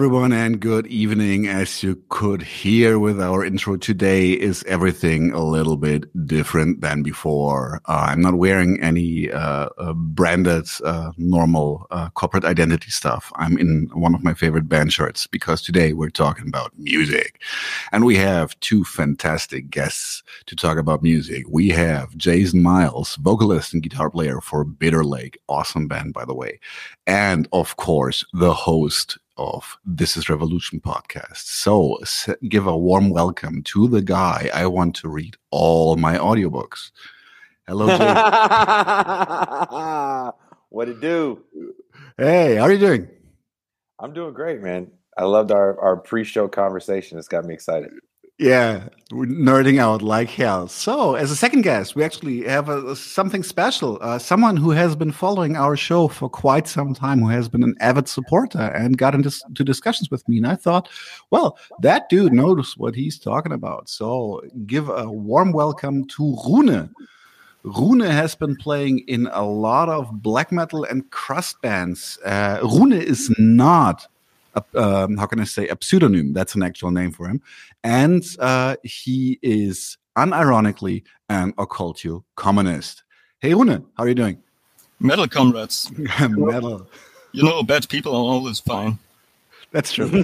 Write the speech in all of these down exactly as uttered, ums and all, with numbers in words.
everyone, and good evening. As you could hear with our intro today, is everything a little bit different than before. Uh, I'm not wearing any uh, uh, branded, uh, normal uh, corporate identity stuff. I'm in one of my favorite band shirts because today we're talking about music. And we have two fantastic guests to talk about music. We have Jason Miles, vocalist and guitar player for Bitter Lake. Awesome band, by the way. And, of course, the host of This Is Revolution podcast. So give a warm welcome to the guy I want to read all my audiobooks. Hello, Jason. What it do? Hey, how are you doing? I'm doing great, man. I loved our, our pre-show conversation. It's got me excited. Yeah, we're nerding out like hell. So, as a second guest, we actually have a, a, something special. Uh, someone who has been following our show for quite some time, who has been an avid supporter and got into to discussions with me. And I thought, well, that dude knows what he's talking about. So, give a warm welcome to Rune. Rune has been playing in a lot of black metal and crust bands. Uh, Rune is not A, um, how can I say, a pseudonym. That's an actual name for him. And uh, he is unironically an occultio communist. Hey, Rune, how are you doing? Metal comrades. Metal. You know, bad people are always fine. That's true.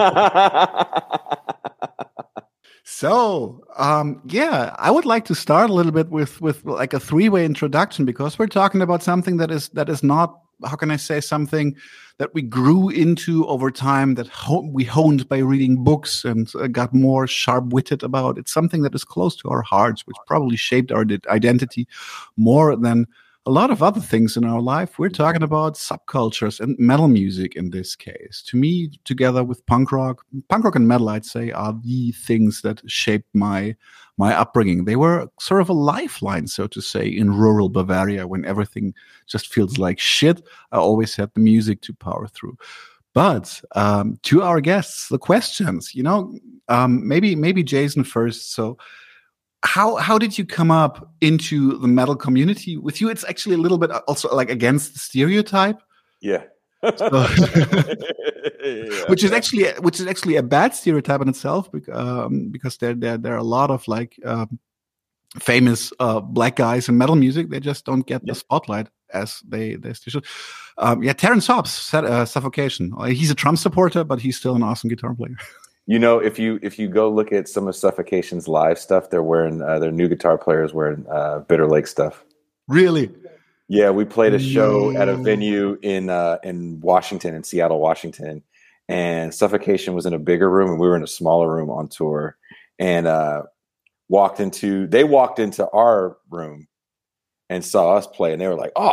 So, um, yeah, I would like to start a little bit with, with like a three-way introduction, because we're talking about something that is that is not, how can I say, something that we grew into over time, that ho- we honed by reading books and uh, got more sharp-witted about. It's something that is close to our hearts, which probably shaped our d- identity more than a lot of other things in our life. We're talking about subcultures and metal music in this case. To me, together with punk rock, punk rock and metal, I'd say, are the things that shaped my my upbringing. They were sort of a lifeline, so to say, in rural Bavaria when everything just feels like shit. I always had the music to power through. But um, to our guests, the questions, you know, um, maybe maybe Jason first. So How how did you come up into the metal community? With you, it's actually a little bit also like against the stereotype. Yeah. So, yeah. which is actually which is actually a bad stereotype in itself, um, because there there there are a lot of like um, famous uh, black guys in metal music. They just don't get yeah. the spotlight as they they should. Um, yeah, Terrence Hobbs said uh, Suffocation. He's a Trump supporter, but he's still an awesome guitar player. You know, if you if you go look at some of Suffocation's live stuff, they're wearing uh, their new guitar players wearing uh, Bitter Lake stuff. Really? Yeah, we played a show no. at a venue in uh, in Washington, in Seattle, Washington, and Suffocation was in a bigger room, and we were in a smaller room on tour. And uh, walked into they walked into our room and saw us play, and they were like, "Oh,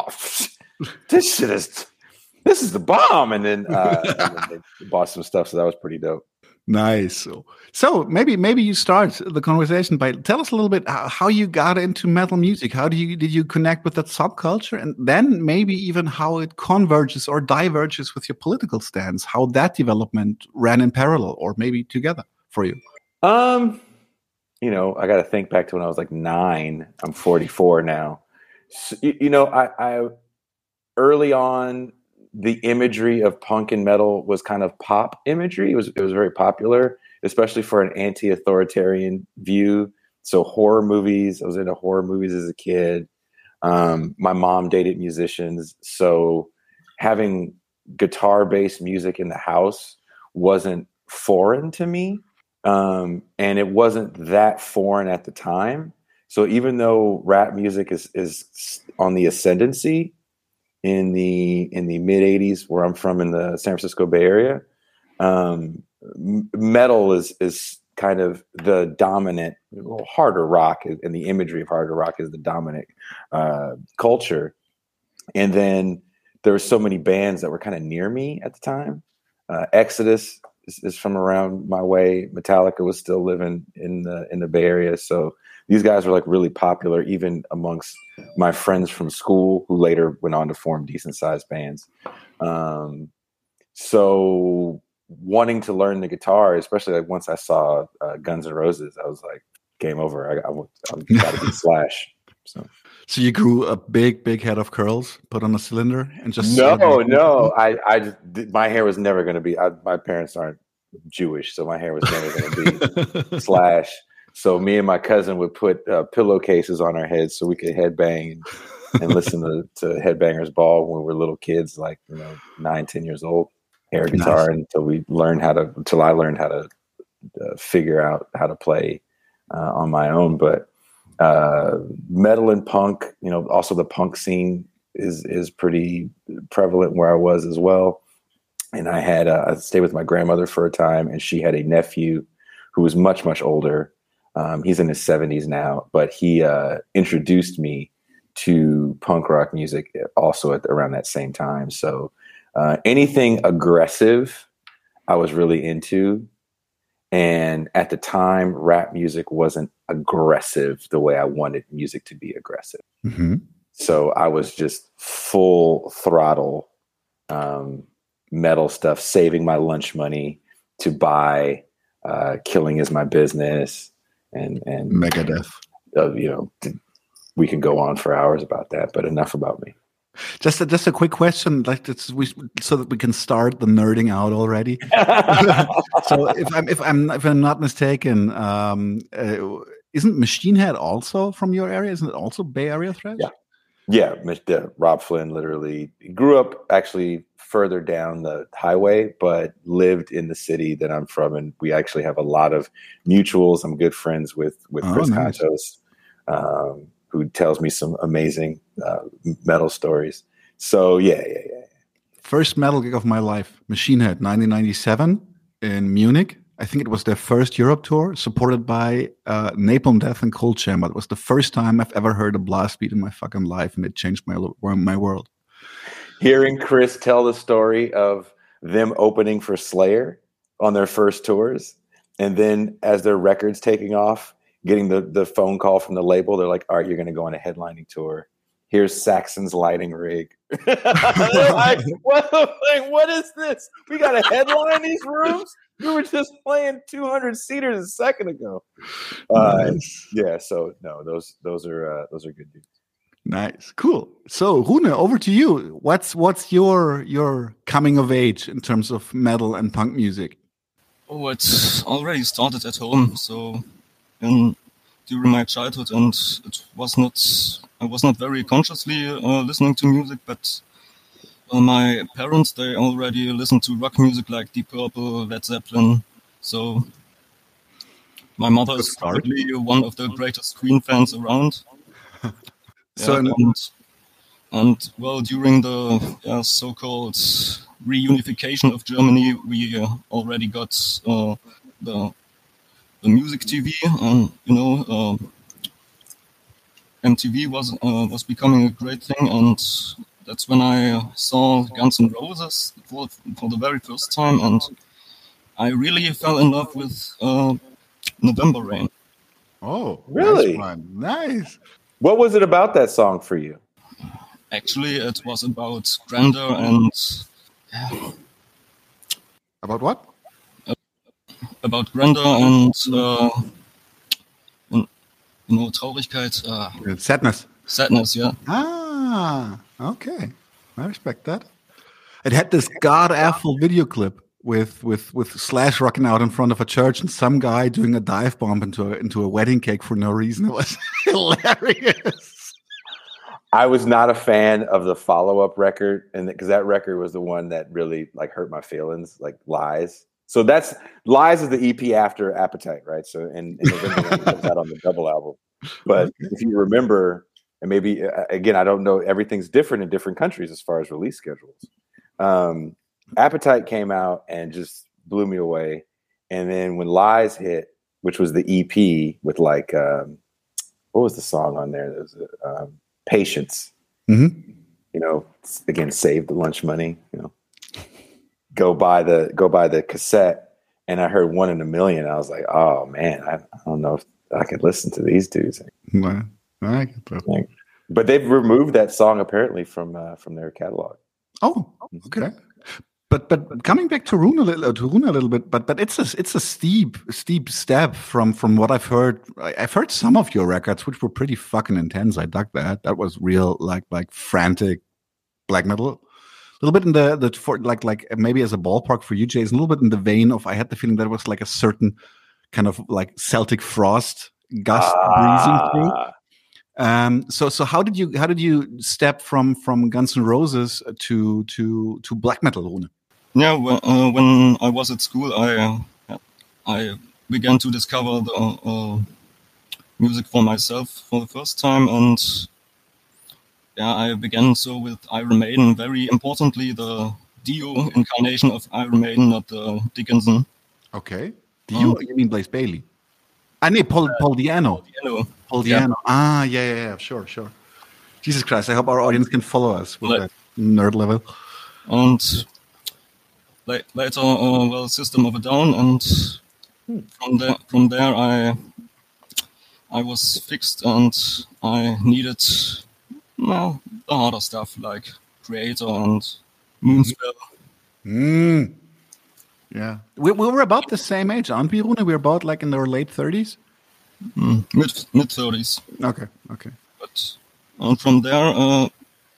this shit is this is the bomb!" And then, uh, and then they bought some stuff, so that was pretty dope. Nice. So, so maybe maybe you start the conversation by tell us a little bit how, how you got into metal music. How do you did you connect with that subculture, and then maybe even how it converges or diverges with your political stance? How that development ran in parallel or maybe together for you? Um, you know, I got to think back to when I was like nine. I'm forty-four now. So, you, you know, I, I early on, the imagery of punk and metal was kind of pop imagery. It was it was very popular, especially for an anti-authoritarian view. So horror movies, I was into horror movies as a kid. Um, my mom dated musicians, so having guitar-based music in the house wasn't foreign to me, um, and it wasn't that foreign at the time. So even though rap music is is on the ascendancy in the in the mid eighties, where I'm from in the San Francisco Bay Area, um, m- metal is is kind of the dominant. Well, harder rock and the imagery of harder rock is the dominant uh, culture. And then there were so many bands that were kind of near me at the time. Uh, Exodus is, is from around my way. Metallica was still living in the in the Bay Area, so these guys were like really popular, even amongst my friends from school, who later went on to form decent sized bands. Um, so wanting to learn the guitar, especially like once I saw uh, Guns N' Roses, I was like, game over. I, I, I've got to be Slash. So, so you grew a big, big head of curls, put on a cylinder, and just no, no. I, I just, my hair was never going to be. I, my parents aren't Jewish, so my hair was never going to be slash. So me and my cousin would put uh, pillowcases on our heads so we could headbang and, and listen to, to Headbangers Ball when we were little kids, like you know, nine, ten years old. Air guitar nice. Until we learned how to. Until I learned how to uh, figure out how to play uh, on my own. But uh, metal and punk, you know, also the punk scene is is pretty prevalent where I was as well. And I had uh, I stayed with my grandmother for a time, and she had a nephew who was much much older. Um, he's in his seventies now, but he uh, introduced me to punk rock music also at around that same time. So uh, anything aggressive, I was really into. And at the time, rap music wasn't aggressive the way I wanted music to be aggressive. Mm-hmm. So I was just full throttle um, metal stuff, saving my lunch money to buy uh, Killing Is My Business. And and Megadeth, uh, you know, we can go on for hours about that, but enough about me. Just a, just a quick question, like it's, we, so that we can start the nerding out already. So if I'm if I'm if I'm not mistaken, um, uh, isn't Machine Head also from your area? Isn't it also Bay Area thrash? Yeah, yeah. Mister Rob Flynn literally grew up actually further down the highway, but lived in the city that I'm from, and we actually have a lot of mutuals. I'm good friends with with oh, Chris nice. Contos, um, who tells me some amazing uh, metal stories. So yeah, yeah, yeah. First metal gig of my life, Machine Head, nineteen ninety-seven in Munich. I think it was their first Europe tour, supported by uh, Napalm Death and Cold Chamber. It was the first time I've ever heard a blast beat in my fucking life, and it changed my my world. Hearing Chris tell the story of them opening for Slayer on their first tours, and then as their record's taking off, getting the, the phone call from the label, they're like, all right, you're going to go on a headlining tour. Here's Saxon's lighting rig. like, what, like, what is this? We got to headline these rooms? We were just playing two hundred seaters a second ago. Uh, nice. Yeah, so no, those those are uh, those are good dudes. Nice, cool. So, Rune, over to you. What's what's your your coming of age in terms of metal and punk music? Oh, it's already started at home. So, in during my childhood, and it was not I was not very consciously uh, listening to music, but uh, my parents, they already listened to rock music like Deep Purple, Led Zeppelin. So, my mother is probably one of the greatest Queen fans around. So yeah, and, and well, during the yeah, so-called reunification of Germany, we uh, already got uh, the the music T V, and you know, uh, M T V was uh, was becoming a great thing, and that's when I saw Guns N' Roses for for the very first time, and I really fell in love with uh, November Rain. Oh, really? Nice, nice. What was it about that song for you? Actually, it was about grandeur and... Yeah. About what? Uh, about grandeur and, uh, and, you know, Traurigkeit. Uh, sadness. Sadness, yeah. Ah, okay. I respect that. It had this god-awful video clip with with with Slash rocking out in front of a church and some guy doing a dive bomb into a, into a wedding cake for no reason. It was hilarious. I was not a fan of the follow-up record, and because that record was the one that really like hurt my feelings, like Lies. So that's Lies is the E P after Appetite, right? So in, in November it comes out on the double album. But okay. If you remember, and maybe again, I don't know, everything's different in different countries as far as release schedules. Um, Appetite came out and just blew me away. And then when Lies hit, which was the E P with like, um, what was the song on there? There was um, Patience. Mm-hmm. You know, again, save the lunch money. You know, go buy the go buy the cassette. And I heard One in a Million. I was like, oh man, I, I don't know if I could listen to these dudes. No, I get that. Like, but they've removed that song apparently from uh, from their catalog. Oh, okay. But but coming back to Rune a little, to Rune a little bit, but but it's a it's a steep steep step from from what I've heard. I, I've heard some of your records, which were pretty fucking intense. I dug that. That was real, like like frantic black metal. A little bit in the the for like like maybe as a ballpark for you, Jason. A little bit in the vein of I had the feeling that it was like a certain kind of like Celtic frost gust Ah. breezing through. Um, so, so how did you how did you step from from Guns N' Roses to to to black metal, Rune? Yeah, when, uh, when I was at school, I uh, I began to discover the uh, music for myself for the first time, and yeah, I began so with Iron Maiden. Very importantly, the Dio incarnation of Iron Maiden, not the Dickinson. Okay, Dio? Um, you mean Blaze Bayley? I need Paul Paul Diano. Paul Diano. Paul Diano. Yeah. Ah, yeah, yeah, yeah, sure, sure. Jesus Christ, I hope our audience can follow us with like, that nerd level. And la- later, uh, well, System of a Down, and hmm. from there, from there, I I was fixed, and I needed well the harder stuff like Creator and Moonspell. Mm. Yeah, we, we were about the same age, aren't we, Rune? We were about like in our late thirties. Mm, mid mid thirties. Okay, okay. But and from there, uh,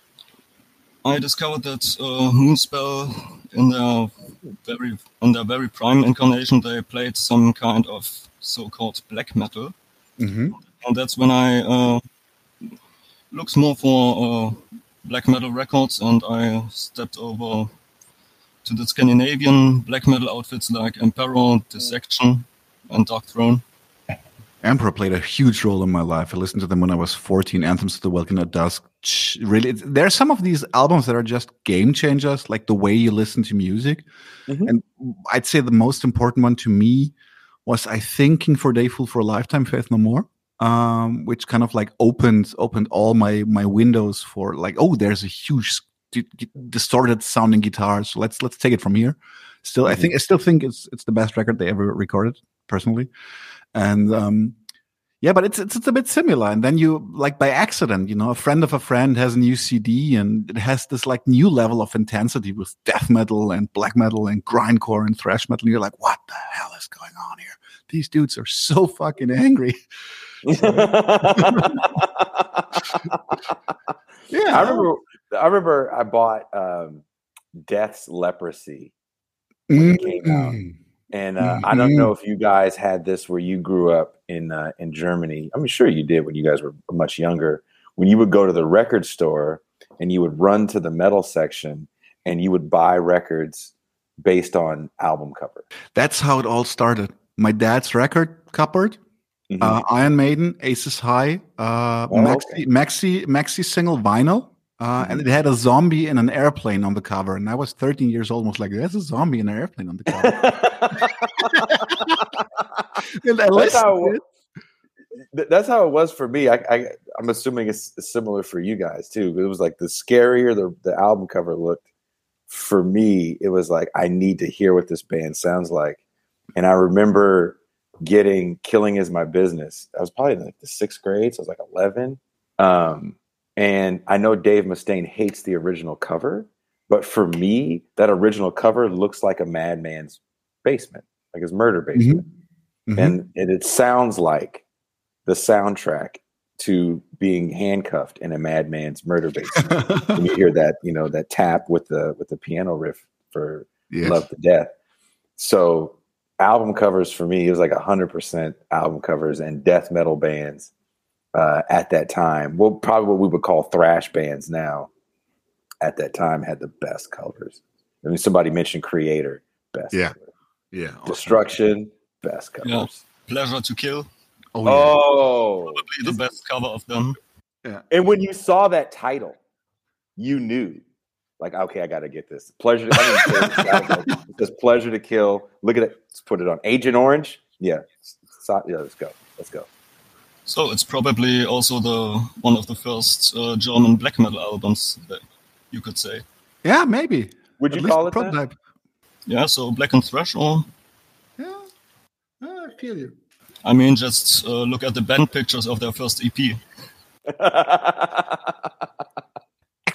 I discovered that uh, Moonspell, in their very in their very prime incarnation, they played some kind of so-called black metal, mm-hmm. and that's when I uh, looked more for uh, black metal records, and I stepped over to the Scandinavian black metal outfits like Emperor, Dissection, and Dark Throne. Emperor played a huge role in my life. I listened to them when I was fourteen. Anthems to the Welkin at Dusk. Really, there are some of these albums that are just game changers, like the way you listen to music. Mm-hmm. And I'd say the most important one to me was, I think, King for a Day, Fool for a Lifetime, Faith No More, um, which kind of like opened opened all my my windows for like, oh, there's a huge d- d- distorted sounding guitar. So let's let's take it from here. Still, mm-hmm. I think I still think it's it's the best record they ever recorded, personally. And um, yeah, but it's, it's it's a bit similar. And then you, like by accident, you know, a friend of a friend has a new C D, and it has this like new level of intensity with death metal and black metal and grindcore and thrash metal. And you're like, what the hell is going on here? These dudes are so fucking angry. So, yeah, I remember. I remember I bought um, Death's Leprosy when mm-hmm. it came out. And uh, mm-hmm. I don't know if you guys had this where you grew up in uh, in Germany. I'm sure you did when you guys were much younger. When you would go to the record store and you would run to the metal section and you would buy records based on album cover. That's how it all started. My dad's record cupboard, mm-hmm. uh, Iron Maiden, Aces High, uh, oh, maxi, okay. maxi maxi single vinyl. Uh, and it had a zombie in an airplane on the cover. And I was thirteen years old, was like, there's a zombie in an airplane on the cover. And I that's, how it, that's how it was for me. I, I, I'm assuming it's similar for you guys, too. It was like the scarier the, the album cover looked, for me, it was like, I need to hear what this band sounds like. And I remember getting Killing Is My Business. I was probably in like the sixth grade, so I was like eleven. Um, And I know Dave Mustaine hates the original cover, but for me, that original cover looks like a madman's basement, like his murder basement. Mm-hmm. And, and it sounds like the soundtrack to being handcuffed in a madman's murder basement. When you hear that, you know, that tap with the with the piano riff for yes. Love to Death. So album covers for me, it was like one hundred percent album covers and death metal bands. Uh, at that time, well, probably what we would call thrash bands now, at that time had the best covers. I mean, somebody mentioned Creator, best. Yeah, cover. yeah. Destruction, awesome. Best covers. Yeah. Pleasure to Kill. Oh, yeah. oh, probably the best cover of them. Yeah. And when you saw that title, you knew, like, okay, I got to get this. Pleasure. To, I mean, it says Pleasure to Kill. Look at it. Let's put it on. Agent Orange. Yeah. So, yeah. Let's go. Let's go. So it's probably also the one of the first uh, German black metal albums, that you could say. Yeah, maybe. Would you call it prototype? That? Yeah, so Black and Thrash, or yeah, oh, I feel you. I mean, just uh, look at the band pictures of their first E P.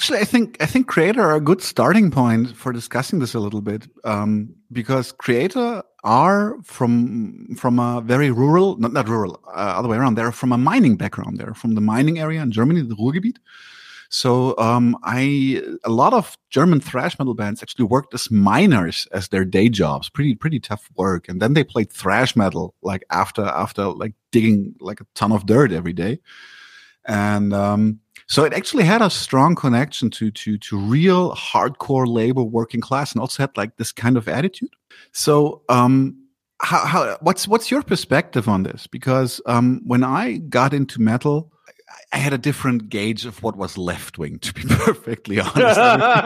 Actually, I think I think Creator are a good starting point for discussing this a little bit, um, because Creator are from from a very rural, not not rural, uh, other way around. They're from a mining background. They're from the mining area in Germany, the Ruhrgebiet. So um, I a lot of German thrash metal bands actually worked as miners as their day jobs. Pretty pretty tough work, and then they played thrash metal like after after like digging like a ton of dirt every day, and um, so it actually had a strong connection to to to real hardcore labor working class, and also had like this kind of attitude. So um, how how what's what's your perspective on this? Because um, when I got into metal, I had a different gauge of what was left wing, to be perfectly honest.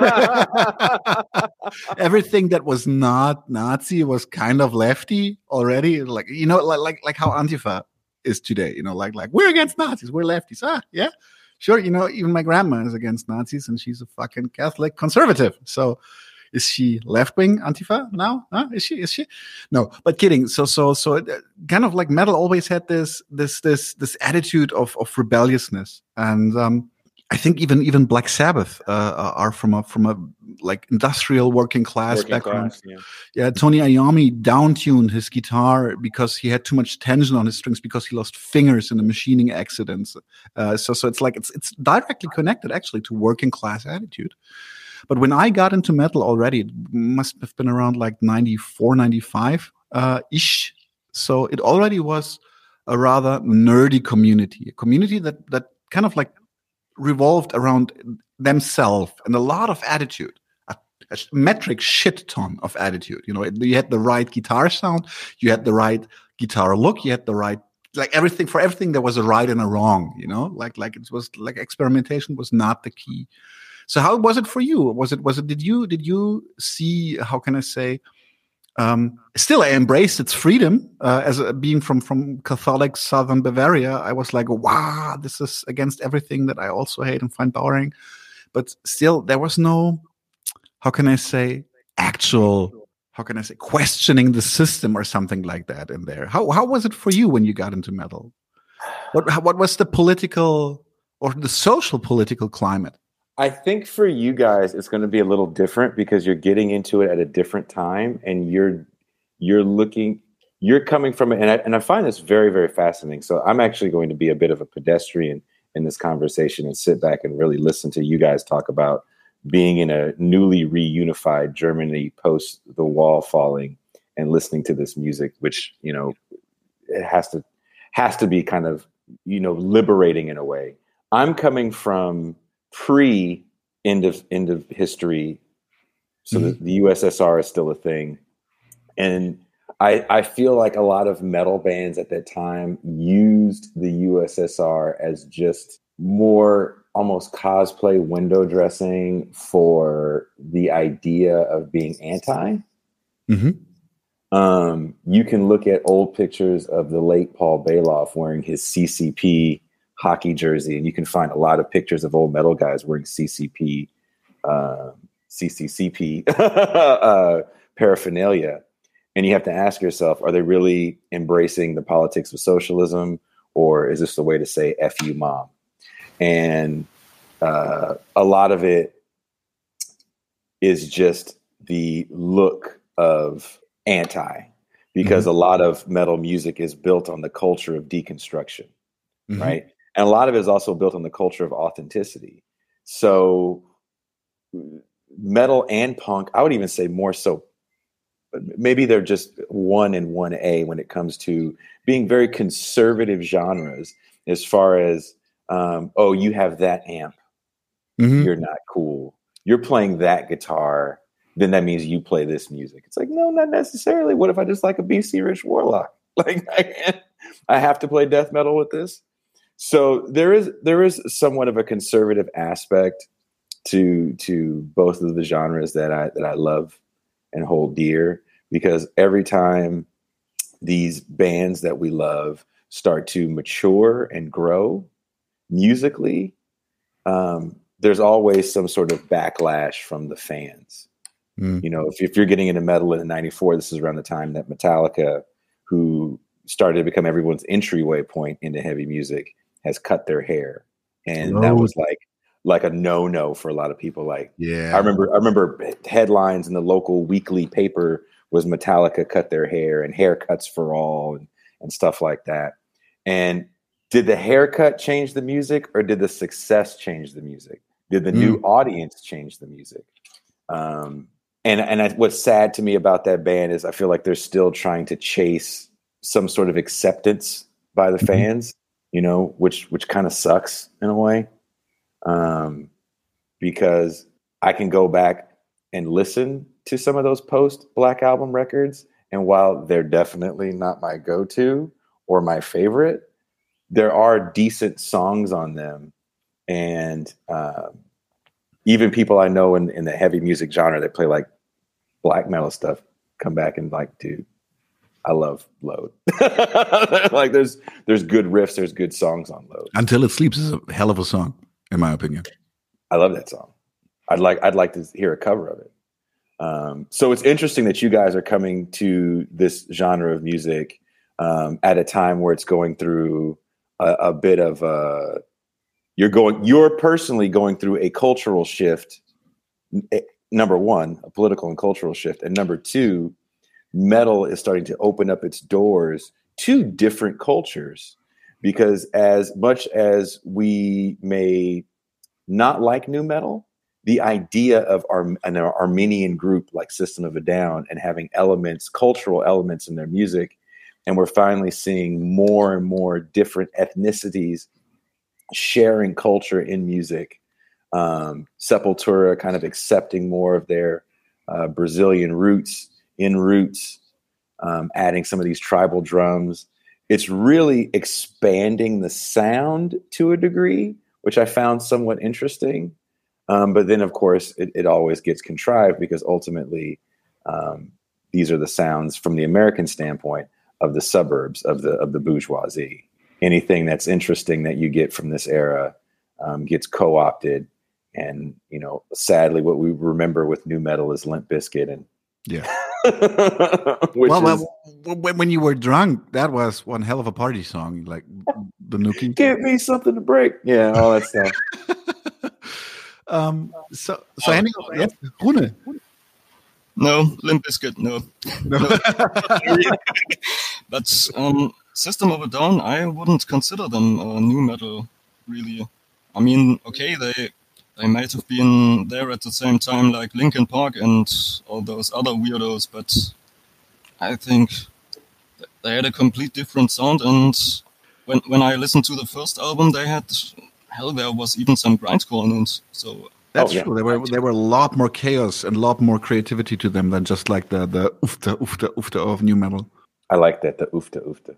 Everything that was not Nazi was kind of lefty already. Like, you know, like, like, like how Antifa is today, you know, like, like we're against Nazis. We're lefties. Ah, yeah, sure. You know, even my grandma is against Nazis and she's a fucking Catholic conservative. So is she left-wing Antifa now? Huh? Is she? Is she? No, but kidding. So, so, so, it, kind of like metal always had this, this, this, this attitude of of rebelliousness, and um, I think even even Black Sabbath uh, are from a from a like industrial working class Working background. class, yeah. Yeah, Tony Iommi downtuned his guitar because he had too much tension on his strings because he lost fingers in a machining accident. Uh, so, so it's like it's it's directly connected actually to working class attitude. But when I got into metal already, it must have been around like ninety-four, ninety-five uh, ish. So it already was a rather nerdy community, a community that that kind of like revolved around themselves and a lot of attitude, a, a metric shit ton of attitude. You know, you had the right guitar sound, you had the right guitar look, you had the right, like everything, for everything there was a right and a wrong, you know, like, like it was like experimentation was not the key. So how was it for you? Was it, was it, did you, did you see, how can I say, um, still I embraced its freedom, uh, as a, being from, from Catholic Southern Bavaria. I was like, wow, this is against everything that I also hate and find boring. But still there was no, how can I say, actual, how can I say, questioning the system or something like that in there. How, how was it for you when you got into metal? What, what was the political or the social political climate? I think for you guys, it's going to be a little different because you're getting into it at a different time, and you're you're looking, you're coming from it, and I, and I find this very, very fascinating. So I'm actually going to be a bit of a pedestrian in this conversation and sit back and really listen to you guys talk about being in a newly reunified Germany post the wall falling and listening to this music, which, you know, it has to has to be kind of, you know, liberating in a way. I'm coming from pre end of end of history, so mm-hmm. the, the U S S R is still a thing, and I I feel like a lot of metal bands at that time used the U S S R as just more almost cosplay window dressing for the idea of being anti. Mm-hmm. Um, you can look at old pictures of the late Paul Bailoff wearing his C C P hockey jersey, and you can find a lot of pictures of old metal guys wearing C C P, uh, C C C P uh, paraphernalia. And you have to ask yourself, are they really embracing the politics of socialism, or is this the way to say F you, mom? And uh, a lot of it is just the look of anti, because mm-hmm. a lot of metal music is built on the culture of deconstruction, mm-hmm. right? And a lot of it is also built on the culture of authenticity. So metal and punk, I would even say more so, maybe they're just one and one A when it comes to being very conservative genres as far as, um, oh, you have that amp. Mm-hmm. You're not cool. You're playing that guitar. Then that means you play this music. It's like, no, not necessarily. What if I just like a B C Rich Warlock? Like I can't, I have to play death metal with this. So there is there is somewhat of a conservative aspect to to both of the genres that I that I love and hold dear, because every time these bands that we love start to mature and grow musically, um, there's always some sort of backlash from the fans. Mm. You know, if, if you're getting into metal in ninety-four, this is around the time that Metallica, who started to become everyone's entryway point into heavy music, has cut their hair. And oh. that was like, like a no-no for a lot of people. Like, Yeah. I remember, I remember headlines in the local weekly paper was Metallica cut their hair and haircuts for all and, and stuff like that. And did the haircut change the music, or did the success change the music? Did the mm. new audience change the music? Um, and and I, what's sad to me about that band is I feel like they're still trying to chase some sort of acceptance by the mm-hmm. fans, you know, which which kind of sucks in a way. Um, because I can go back and listen to some of those post Black Album records, and while they're definitely not my go-to or my favorite, there are decent songs on them. And um, even people I know in, in the heavy music genre that play like black metal stuff come back and like, dude, I love Load. Like there's there's good riffs, there's good songs on Load. Until It Sleeps is a hell of a song, in my opinion. I love that song. I'd like I'd like to hear a cover of it. Um, so it's interesting that you guys are coming to this genre of music um, at a time where it's going through a, a bit of a, you're going, you're personally going through a cultural shift. Number one, a political and cultural shift. And number two, metal is starting to open up its doors to different cultures, because as much as we may not like new metal, the idea of our, an Armenian group like System of a Down and having elements, cultural elements in their music, and we're finally seeing more and more different ethnicities sharing culture in music. Um, Sepultura kind of accepting more of their uh, Brazilian roots in roots, um, adding some of these tribal drums. It's really expanding the sound to a degree, which I found somewhat interesting. Um, but then, of course, it, it always gets contrived, because ultimately um, these are the sounds from the American standpoint of the suburbs, of the of the bourgeoisie. Anything that's interesting that you get from this era um, gets co-opted. And, you know, sadly, what we remember with new metal is Limp Bizkit. And yeah. Which well, is, well, when you were drunk, that was one hell of a party song, like the Nookie. Give me something to break. Yeah, all that stuff. um. So, so Henning, yes, Rune. No, Limp Bizkit, no. no. But um, System of a Down, I wouldn't consider them uh, new metal, really. I mean, okay, they they might have been there at the same time like Linkin Park and all those other weirdos, but I think they had a complete different sound. And when when I listened to the first album, they had, hell, there was even some grindcore in it. So that's oh, yeah. true. There were there were a lot more chaos and a lot more creativity to them than just like the the oofta oofta oofta of new metal. I like that, the oofta oofta.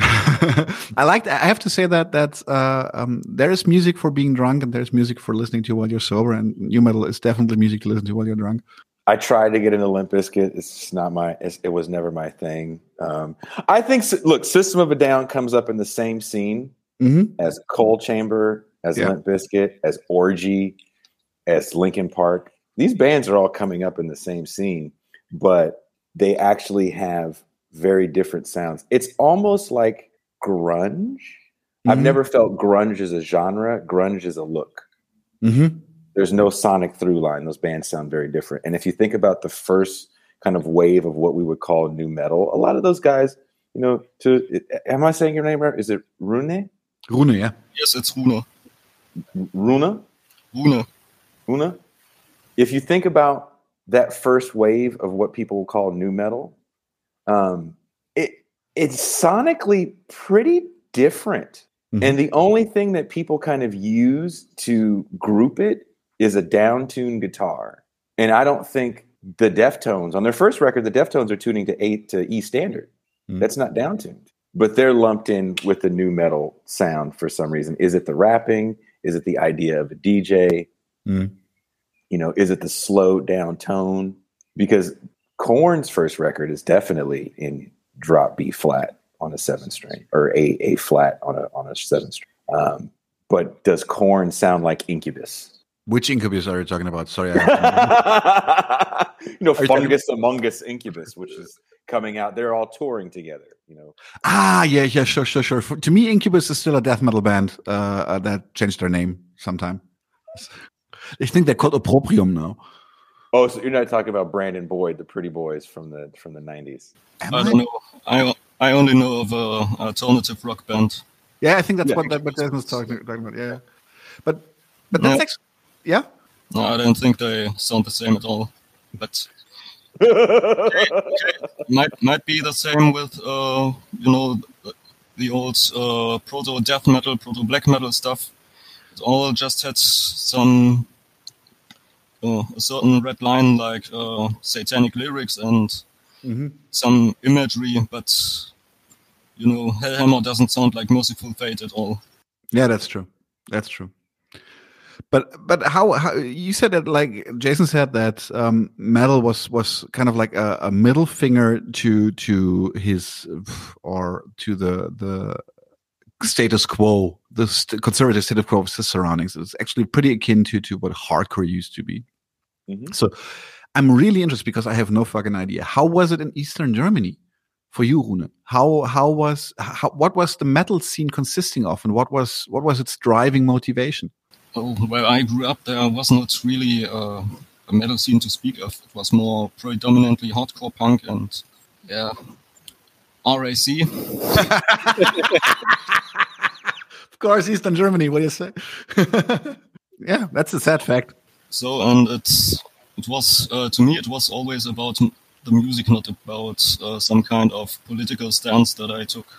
I like. I have to say that that uh, um, there is music for being drunk, and there's music for listening to while you're sober. And new metal is definitely music to listen to while you're drunk. I tried to get into Limp Bizkit. It's just not my. It's, it was never my thing. Um, I think. Look, System of a Down comes up in the same scene mm-hmm. as Coal Chamber, as yeah. Limp Bizkit, as Orgy, as Linkin Park. These bands are all coming up in the same scene, but they actually have very different sounds. It's almost like grunge. Mm-hmm. I've never felt grunge as a genre. Grunge is a look. Mm-hmm. There's no sonic through line. Those bands sound very different. And if you think about the first kind of wave of what we would call new metal, a lot of those guys, you know, to am I saying your name right? Is it Rune? Rune, yeah. Yes, it's Rune. Rune? Rune. Rune? If you think about that first wave of what people call new metal, Um, it it's sonically pretty different. Mm-hmm. And the only thing that people kind of use to group it is a down-tuned guitar. And I don't think the Deftones, on their first record, the Deftones are tuning to eight to E standard. Mm-hmm. That's not down-tuned. But they're lumped in with the new metal sound for some reason. Is it the rapping? Is it the idea of a D J? Mm-hmm. You know, is it the slowed down tone? Because Korn's first record is definitely in drop B flat on a seven string, or A A flat on a on a seven string. Um, but does Korn sound like Incubus? Which Incubus are you talking about? Sorry, I you know, are Fungus you Among Us Incubus, which is coming out. They're all touring together. You know. Ah, yeah, yeah, sure, sure, sure. For, to me, Incubus is still a death metal band uh, uh, that changed their name sometime. I think they're called Opprobrium now. Oh, so you're not talking about Brandon Boyd, the Pretty Boys from the from the nineties? Am I I? don't know. I I only know of a alternative rock band. Yeah, I think that's Yeah. what that what Desmond's talking, talking about. Yeah, but but No. that's actually yeah. No, I don't think they sound the same at all. But might might be the same with uh you know the, the old uh, proto death metal, proto black metal stuff. It all just had some uh, a certain red line like uh, satanic lyrics and Mm-hmm. some imagery, but you know, Hellhammer doesn't sound like Merciful Fate at all. Yeah, that's true. That's true. But but how, how you said that, like Jason said that um, metal was was kind of like a, a middle finger to to his or to the the status quo, the st- conservative status quo of his surroundings. It's actually pretty akin to to what hardcore used to be. Mhm. So I'm really interested because I have no fucking idea. How was it in Eastern Germany for you, Rune? How how was how, what was the metal scene consisting of, and what was what was its driving motivation? Oh, where I grew up, there was not really uh, a metal scene to speak of. It was more predominantly hardcore punk and, yeah, R A C. Of course, Eastern Germany. What do you say? Yeah, that's a sad fact. So, and it's it was uh, to me, it was always about m- the music, not about uh, some kind of political stance that I took.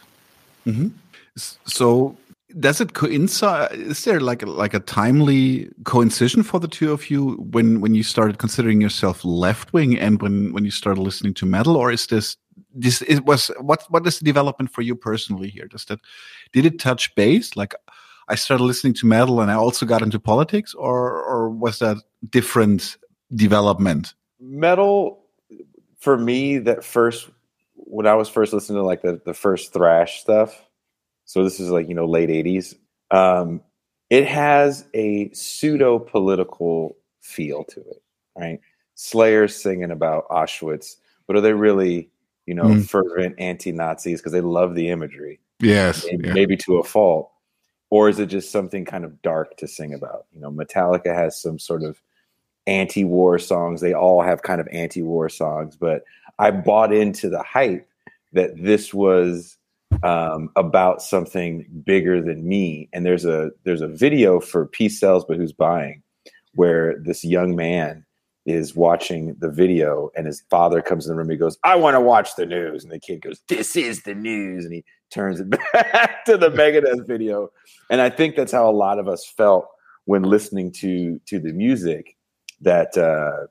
S- So, does it coincide? Is there like a, like a timely coincision for the two of you when when you started considering yourself left wing and when when you started listening to metal, or is this this it was what what is the development for you personally here? Does that did it touch base? Like I started listening to metal and I also got into politics, or or was that different development? Metal for me, that first when I was first listening to like the, the first thrash stuff, so this is like, you know, late eighties, um, it has a pseudo political feel to it, right? Slayer's singing about Auschwitz, but are they really, you know, Mm. fervent anti-Nazis because they love the imagery, Yes. maybe, Yeah. maybe to a fault? Or is it just something kind of dark to sing about? You know, Metallica has some sort of anti-war songs. They all have kind of anti-war songs, but I bought into the hype that this was um, about something bigger than me. And there's a there's a video for Peace Sells, But Who's Buying, where this young man is watching the video and his father comes in the room. He goes, "I want to watch the news." And the kid goes, "This is the news." And he turns it back to the Megadeth video. And I think that's how a lot of us felt when listening to to the music, that uh,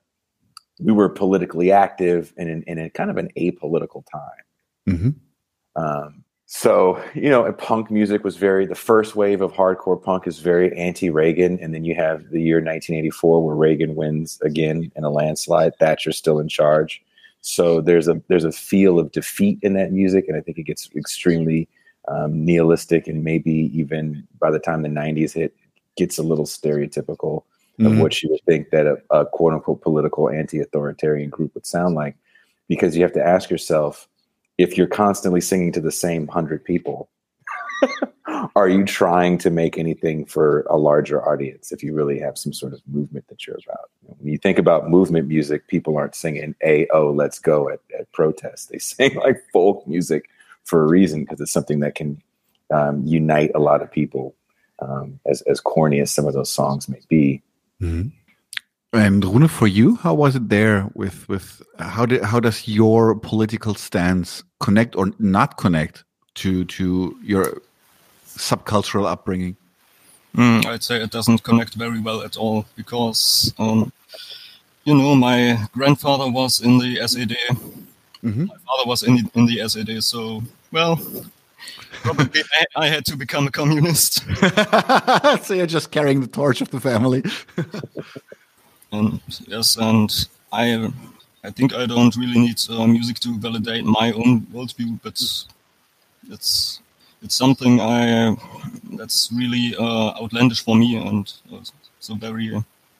we were politically active and in, in a kind of an apolitical time. Mm-hmm. Um, so, you know, punk music was very, the first wave of hardcore punk is very anti-Reagan. And then you have the year nineteen eighty-four where Reagan wins again in a landslide. Thatcher's still in charge. So there's a, there's a feel of defeat in that music. And I think it gets extremely um, nihilistic, and maybe even by the time the nineties hit, gets a little stereotypical of Mhm. what you would think that a, a quote unquote political anti-authoritarian group would sound like. Because you have to ask yourself, if you're constantly singing to the same hundred people, are you trying to make anything for a larger audience if you really have some sort of movement that you're about? When you think about movement music, people aren't singing A O, let's go at, at protests. They sing like folk music for a reason, because it's something that can um, unite a lot of people, um, as, as corny as some of those songs may be. Mm-hmm. And Rune, for you, how was it there? With with how did how does your political stance connect or not connect to to your subcultural upbringing? Mm, I'd say it doesn't connect very well at all because, um, you know, my grandfather was in the S E D. Mm-hmm. My father was in the, in the S E D. So, well, probably I, I had to become a communist. So you're just carrying the torch of the family. And yes, and I, I think I don't really need uh, music to validate my own worldview, but it's it's something I that's really uh, outlandish for me, and uh, so very. Uh,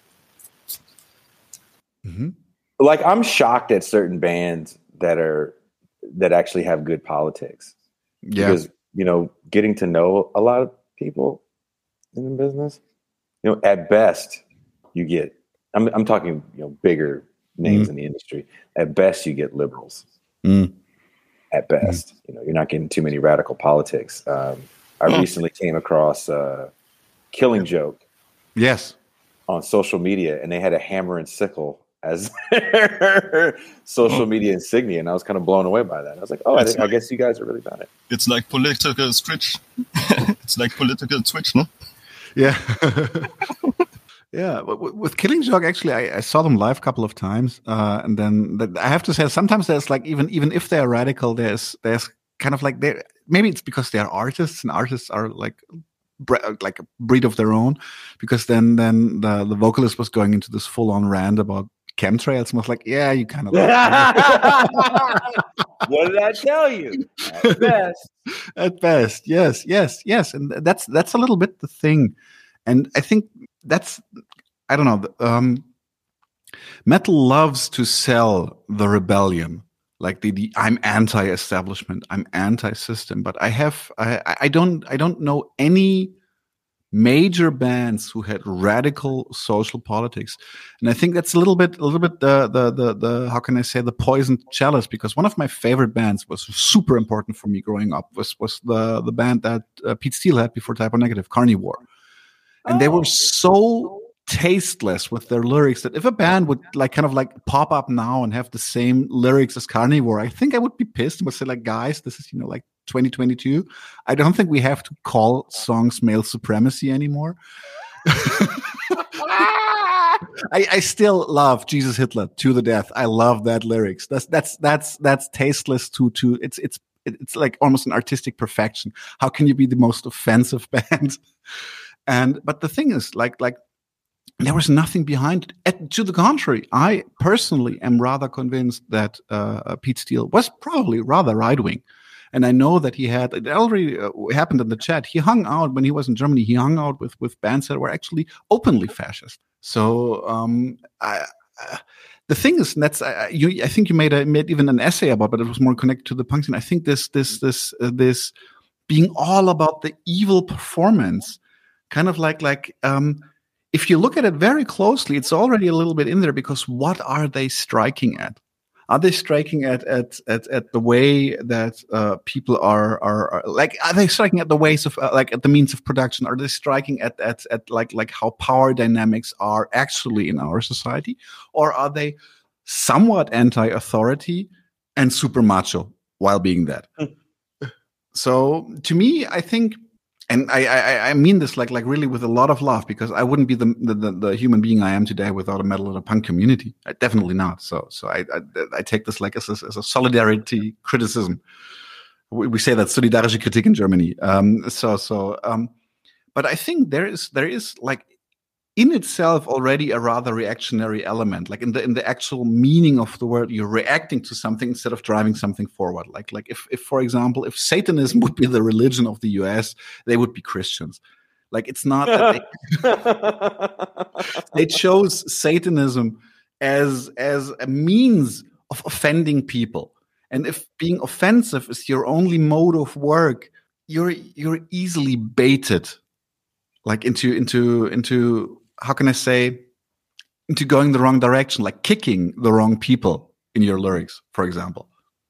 Mm-hmm. Like, I'm shocked at certain bands that are that actually have good politics. Yeah. Because, you know, getting to know a lot of people in the business, You know, at best, you get. I'm I'm talking, you know, bigger names mm. in the industry. At best, you get liberals. Mm. At best, mm. you know, you're not getting too many radical politics. Um, I mm. recently came across uh, Killing Joke. Yes. On social media, and they had a hammer and sickle as their social media insignia, and I was kind of blown away by that. I was like, "Oh, I, think, like, I guess you guys are really about it." It's like political switch. It's like political switch, no? Yeah, yeah. But with Killing Joke, actually, I, I saw them live a couple of times, uh, and then the, I have to say, sometimes there's like even even if they're radical, there's there's kind of like they maybe it's because they're artists, and artists are like. like a breed of their own, because then then the, the vocalist was going into this full-on rant about chemtrails, and was like, yeah, you kind of what did I tell you? At best. At best, yes, yes, yes. And that's that's a little bit the thing. And I think that's, I don't know, um, metal loves to sell the rebellion. Like the, the I'm anti-establishment, I'm anti-system, but I have I, I don't I don't know any major bands who had radical social politics, and I think that's a little bit a little bit the the the, the how can I say the poisoned chalice, because one of my favorite bands was super important for me growing up was was the the band that uh, Pete Steele had before Type O Negative, Carnivore, and oh. they were so tasteless with their lyrics that if a band would like kind of like pop up now and have the same lyrics as Carnivore, I think I would be pissed and would say like, guys, this is, you know, like twenty twenty-two. I don't think we have to call songs male supremacy anymore. I, I still love Jesus Hitler to the death. I love that lyrics. That's that's that's that's tasteless to to it's it's it's like almost an artistic perfection. How can you be the most offensive band? And but the thing is, like like. There was nothing behind it. At, to the contrary, I personally am rather convinced that uh, Pete Steele was probably rather right-wing. And I know that he had, it already uh, happened in the chat, he hung out, when he was in Germany, he hung out with, with bands that were actually openly fascist. So um, I, uh, the thing is, and that's, uh, you, I think you made, a, made even an essay about, but it was more connected to the punk scene. I think this, this, this, uh, this being all about the evil performance, kind of like, like, um, if you look at it very closely, it's already a little bit in there, because what are they striking at? Are they striking at at at, at the way that uh, people are, are are like? Are they striking at the ways of uh, like at the means of production? Are they striking at at at like like how power dynamics are actually in our society, or are they somewhat anti-authority and super macho while being that? So to me, I think. And I, I, I mean this like like really with a lot of love, because I wouldn't be the the, the human being I am today without a metal and a punk community. I, definitely not. So so I, I I take this like as a, as a solidarity criticism. We, we say that solidarische Kritik in Germany. Um, so so um, but I think there is there is like in itself already a rather reactionary element, like in the in the actual meaning of the word. You're reacting to something instead of driving something forward. Like like if if for example, if Satanism would be the religion of the U S, they would be Christians. Like it's not that they, they chose Satanism as as a means of offending people. And if being offensive is your only mode of work, you're you're easily baited, like into into into. How can I say, into going the wrong direction, like kicking the wrong people in your lyrics, for example?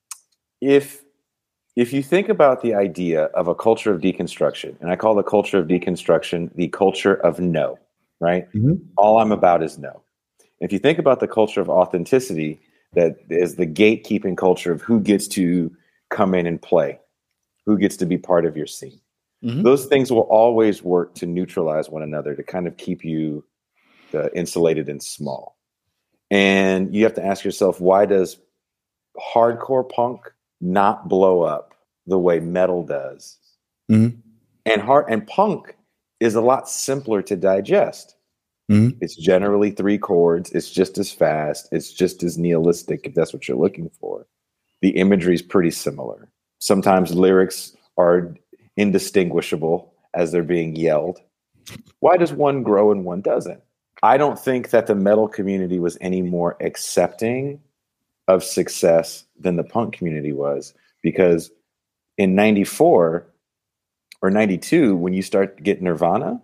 If if you think about the idea of a culture of deconstruction, and I call the culture of deconstruction the culture of no, right? Mm-hmm. All I'm about is no. If you think about the culture of authenticity, that is the gatekeeping culture of who gets to come in and play, who gets to be part of your scene. Mm-hmm. Those things will always work to neutralize one another, to kind of keep you uh, insulated and small. And you have to ask yourself, why does hardcore punk not blow up the way metal does? Mm-hmm. And hard and punk is a lot simpler to digest. Mm-hmm. It's generally three chords. It's just as fast. It's just as nihilistic, if that's what you're looking for. The imagery is pretty similar. Sometimes lyrics are indistinguishable as they're being yelled. Why does one grow and one doesn't? I don't think that the metal community was any more accepting of success than the punk community was, because in ninety-four or ninety-two, when you start to get Nirvana,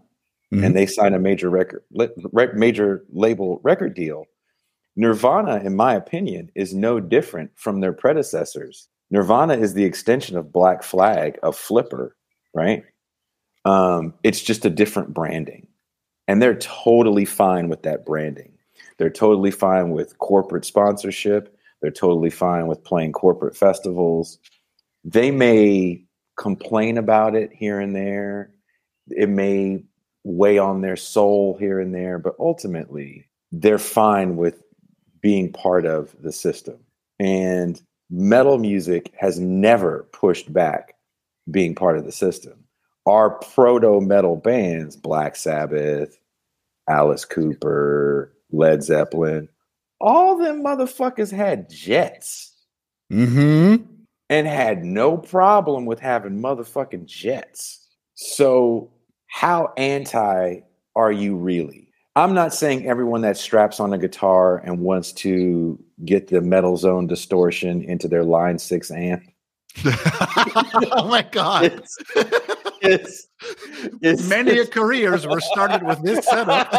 mm-hmm. and they sign a major record, major label record deal. Nirvana, in my opinion, is no different from their predecessors. Nirvana is the extension of Black Flag, of Flipper, right? Um, it's just a different branding. And they're totally fine with that branding. They're totally fine with corporate sponsorship. They're totally fine with playing corporate festivals. They may complain about it here and there. It may weigh on their soul here and there, but ultimately they're fine with being part of the system. And metal music has never pushed back being part of the system. Our proto-metal bands, Black Sabbath, Alice Cooper, Led Zeppelin, all them motherfuckers had jets. Mm-hmm. And had no problem with having motherfucking jets. So how anti are you really? I'm not saying everyone that straps on a guitar and wants to get the Metal Zone distortion into their Line six amp. Oh my God. It's, it's, it's Many it's, careers were started with this setup.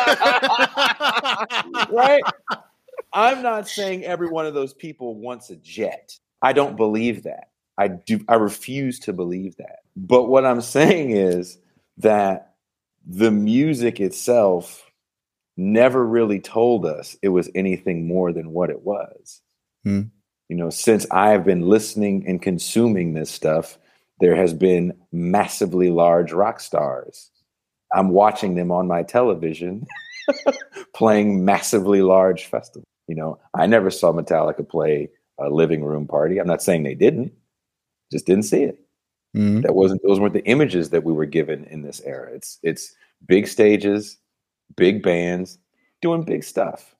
Right? I'm not saying every one of those people wants a jet. I don't believe that. I do. I refuse to believe that. But what I'm saying is that the music itself never really told us it was anything more than what it was. Hmm. You know, since I've been listening and consuming this stuff, there has been massively large rock stars. I'm watching them on my television playing massively large festivals. You know, I never saw Metallica play a living room party. I'm not saying they didn't, just didn't see it. Mm-hmm. That wasn't, those weren't the images that we were given in this era. It's, it's big stages, big bands doing big stuff.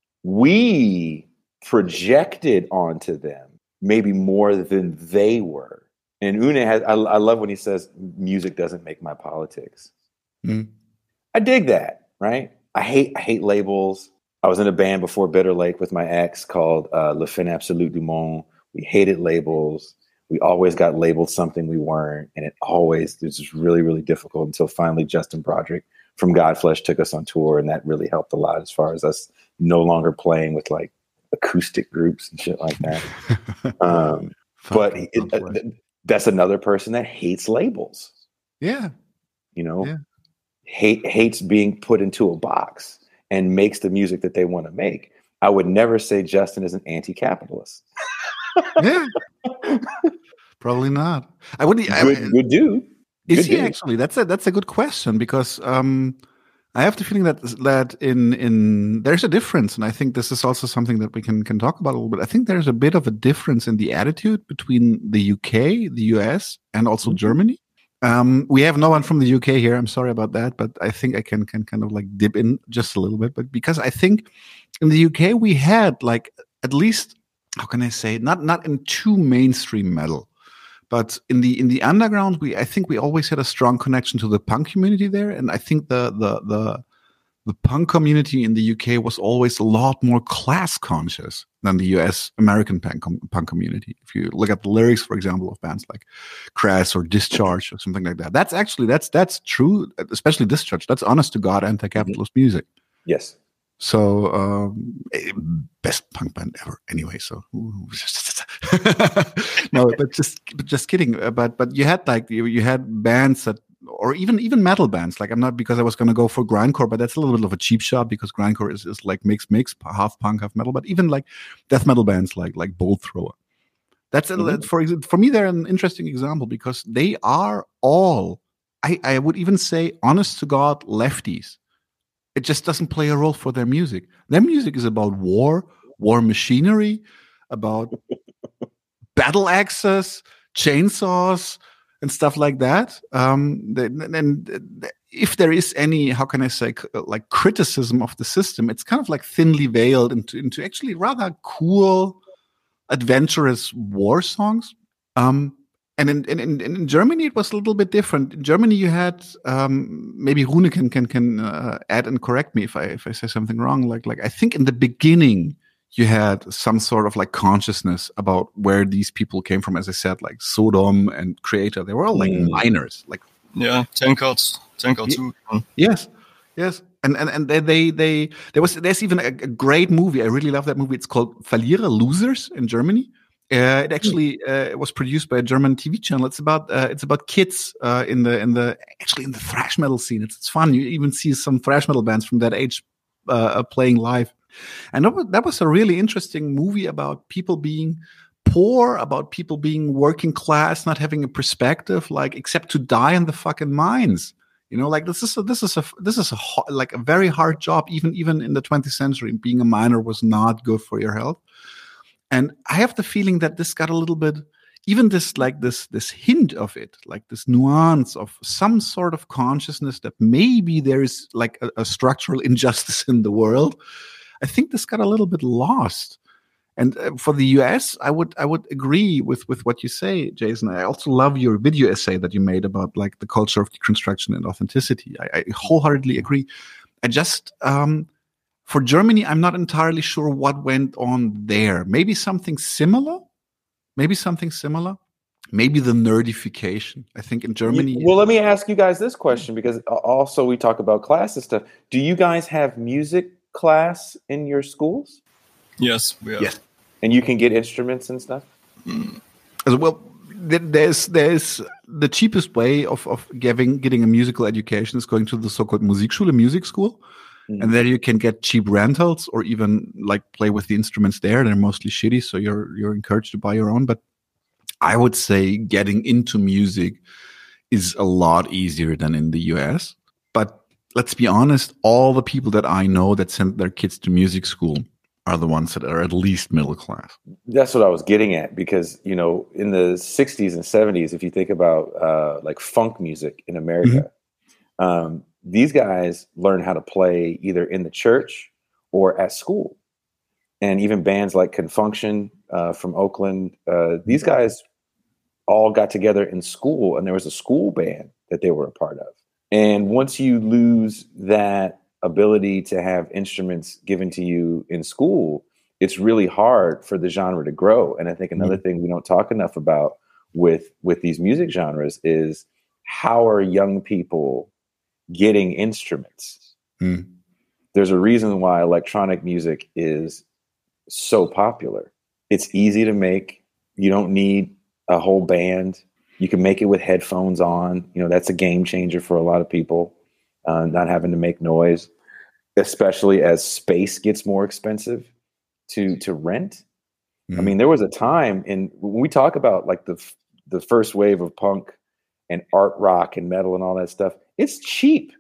We projected onto them maybe more than they were. And Une has, I, I love when he says, music doesn't make my politics. Mm-hmm. I dig that, right? I hate, I hate labels. I was in a band before Bitter Lake with my ex called uh, Le Fin Absolute du Monde. We hated labels. We always got labeled something we weren't. And it always, it was just really, really difficult until finally Justin Broderick from Godflesh took us on tour. And that really helped a lot as far as us no longer playing with like acoustic groups and shit like that. um, but it, it, that's another person that hates labels. Yeah. You know, yeah. hate hates being put into a box and makes the music that they want to make. I would never say Justin is an anti-capitalist. Yeah, probably not. I would. Good, I, good dude. Is good he dude. actually? That's a that's a good question because um, I have the feeling that that in in there's a difference, and I think this is also something that we can can talk about a little bit. I think there's a bit of a difference in the attitude between the U K, the U S, and also mm-hmm. Germany. Um, we have no one from the U K here. I'm sorry about that, but I think I can can kind of like dip in just a little bit. But because I think in the U K we had like at least, how can I say, not not in too mainstream metal, but in the in the underground, we I think we always had a strong connection to the punk community there, and I think the the the the punk community in the U K was always a lot more class conscious than the U S American punk, punk community. If you look at the lyrics, for example, of bands like Crass or Discharge or something like that, that's actually that's that's true, especially Discharge. That's honest to God anti-capitalist mm-hmm. music. Yes. So um, best punk band ever, anyway. So no, but just but just kidding. But but you had like you, you had bands that, or even even metal bands. Like I'm not because I was going to go for grindcore, but that's a little bit of a cheap shot because grindcore is, is like mix mix half punk half metal. But even like death metal bands like like Bolt Thrower. That's mm-hmm. a, for for me they're an interesting example because they are all I I would even say honest to God lefties. It just doesn't play a role for their music. Their music is about war, war machinery, about battle axes, chainsaws, and stuff like that. Um, and if there is any, how can I say, like criticism of the system, it's kind of like thinly veiled into, into actually rather cool, adventurous war songs. Um, And in, in in Germany, it was a little bit different. In Germany, you had um, maybe Rune can can can uh, add and correct me if I if I say something wrong. Like like I think in the beginning, you had some sort of like consciousness about where these people came from. As I said, like Sodom and Creator, they were all like mm. miners. Like yeah, Tankard, Tankard too. Yes, Yes, and and and they they, they there was there's even a, a great movie. I really love that movie. It's called Verlierer, Losers in Germany. Uh, it actually uh, was produced by a German T V channel. It's about uh, it's about kids uh, in the in the actually in the thrash metal scene. It's it's fun. You even see some thrash metal bands from that age uh, playing live, and that was, that was a really interesting movie about people being poor, about people being working class, not having a perspective, like except to die in the fucking mines. You know, like this is a, this is a this is a like a very hard job. Even even in the twentieth century, being a miner was not good for your health. And I have the feeling that this got a little bit, even this like this this hint of it, like this nuance of some sort of consciousness that maybe there is like a, a structural injustice in the world. I think this got a little bit lost. And uh, for the U S, I would I would agree with with what you say, Jason. I also love your video essay that you made about like the culture of deconstruction and authenticity. I, I wholeheartedly agree. I just um, for Germany, I'm not entirely sure what went on there. Maybe something similar. Maybe something similar. Maybe the nerdification. I think in Germany. Well, let me ask you guys this question, because also we talk about class and stuff. Do you guys have music class in your schools? Yes, we have. Yes. And you can get instruments and stuff? Mm. As well, there's there's the cheapest way of, of giving getting a musical education is going to the so-called Musikschule, music school. Mm-hmm. And there you can get cheap rentals or even like play with the instruments there. They're mostly shitty, so you're you're encouraged to buy your own. But I would say getting into music is a lot easier than in the U S. But let's be honest, all the people that I know that send their kids to music school are the ones that are at least middle class. That's what I was getting at, because, you know, in the sixties and seventies, if you think about uh, like funk music in America, mm-hmm. um, these guys learn how to play either in the church or at school. And even bands like Confunction uh, from Oakland, uh, these guys all got together in school, and there was a school band that they were a part of. And once you lose that ability to have instruments given to you in school, it's really hard for the genre to grow. And I think another mm-hmm. thing we don't talk enough about with with these music genres is how are young people getting instruments? Mm. There's a reason why electronic music is so popular. It's easy to make. You don't need a whole band. You can make it with headphones on. You know, that's a game changer for a lot of people, uh, not having to make noise, especially as space gets more expensive to to rent. Mm-hmm. I mean, there was a time in when we talk about like the the first wave of punk and art rock and metal and all that stuff, it's cheap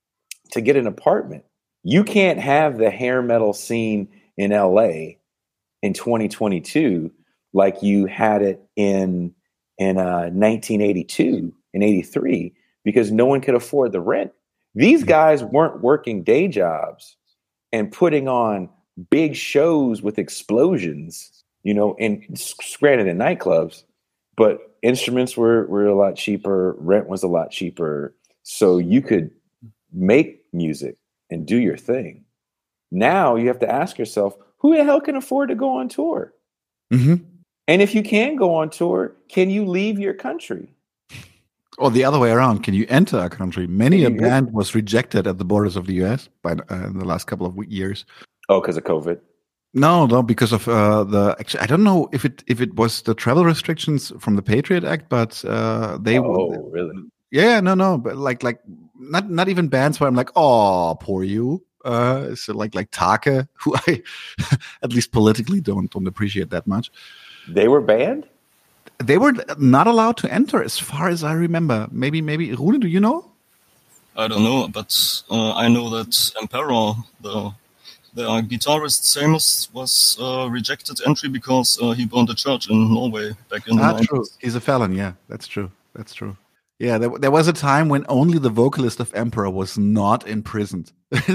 to get an apartment. You can't have the hair metal scene in L A in twenty twenty-two like you had it in in uh, nineteen eighty-two and eighty-three, because no one could afford the rent. These guys weren't working day jobs and putting on big shows with explosions, you know, and granted in nightclubs, but instruments were, were a lot cheaper. Rent was a lot cheaper. So you could make music and do your thing. Now you have to ask yourself, who the hell can afford to go on tour? Mm-hmm. And if you can go on tour, can you leave your country? Or the other way around, can you enter a country? Many a band was rejected at the borders of the U S by uh, in the last couple of years. Oh, because of COVID? No, no, because of uh, the. Actually, I don't know if it if it was the travel restrictions from the Patriot Act, but uh, they. Oh, really? Yeah, no, no, but like like not not even bands where I'm like, oh, poor you. Uh, so like like Take, who I at least politically don't don't appreciate that much. They were banned? They were not allowed to enter, as far as I remember. Maybe, maybe Rune, do you know? I don't know, but uh, I know that Emperor, the the guitarist Samus, was uh, rejected entry because uh, he burned a church in Norway back in the ah, nineties. True. He's a felon. Yeah, that's true. That's true. Yeah, there, there was a time when only the vocalist of Emperor was not imprisoned.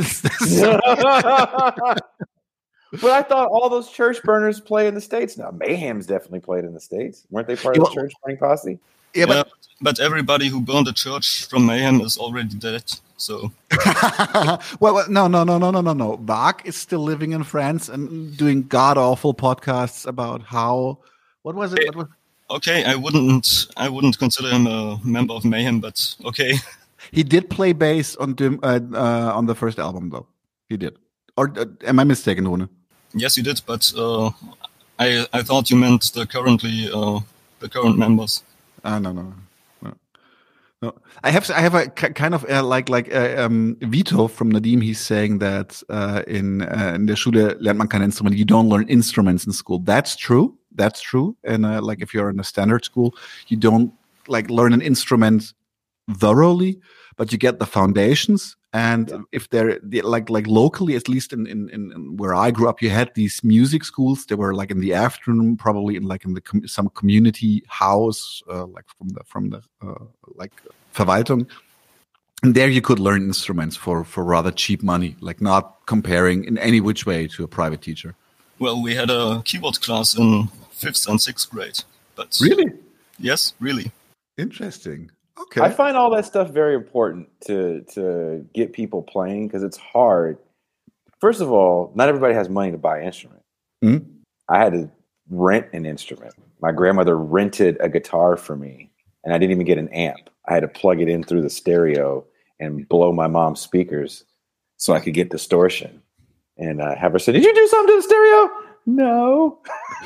But I thought all those church burners play in the States now. Mayhem's definitely played in the States. Weren't they part of the church burning posse? Yeah, but, yeah, but everybody who burned a church from Mayhem is already dead. So, well, well, no, no, no, no, no, no, no. Bach is still living in France and doing god awful podcasts about how. What was it? What was? Okay, I wouldn't, I wouldn't consider him a member of Mayhem, but okay. He did play bass on Dim, uh, uh, on the first album, though. He did. Or uh, am I mistaken, Rune? Yes, you did, but uh, I I thought you meant the currently uh, the current members. Ah, no, no, no, no. I have I have a kind of uh, like like uh, um, Vito from Nadim. He's saying that uh, in uh, in der Schule lernt man kein Instrument. You don't learn instruments in school. That's true. That's true. And uh, like if you're in a standard school, you don't like learn an instrument thoroughly, but you get the foundations. And yeah. if they're like like locally, at least in, in in where I grew up, you had these music schools. They were like in the afternoon, probably in like in the com- some community house, uh, like from the from the uh, like Verwaltung. And there you could learn instruments for for rather cheap money, like not comparing in any which way to a private teacher. Well, we had a keyboard class in fifth and sixth grade. But really, yes, really interesting. Okay. I find all that stuff very important to to get people playing because it's hard. First of all, not everybody has money to buy an instrument. Mm-hmm. I had to rent an instrument. My grandmother rented a guitar for me, and I didn't even get an amp. I had to plug it in through the stereo and blow my mom's speakers so I could get distortion. And uh, have her say, "Did you do something to the stereo?" No.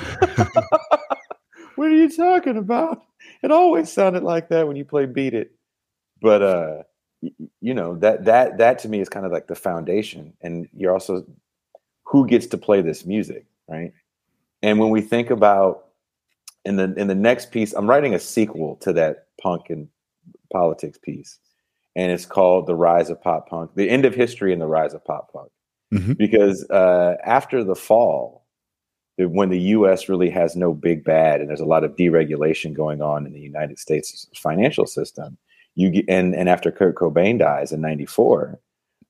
What are you talking about? It always sounded like that when you play Beat It. But, uh, y- you know, that that that to me is kind of like the foundation. And you're also, who gets to play this music, right? And when we think about, in the in the next piece, I'm writing a sequel to that punk and politics piece. And it's called The Rise of Pop Punk, The End of History and the Rise of Pop Punk. Mm-hmm. Because uh, after the fall, when the U S really has no big bad and there's a lot of deregulation going on in the United States financial system, you get, and, and after Kurt Cobain dies in ninety-four,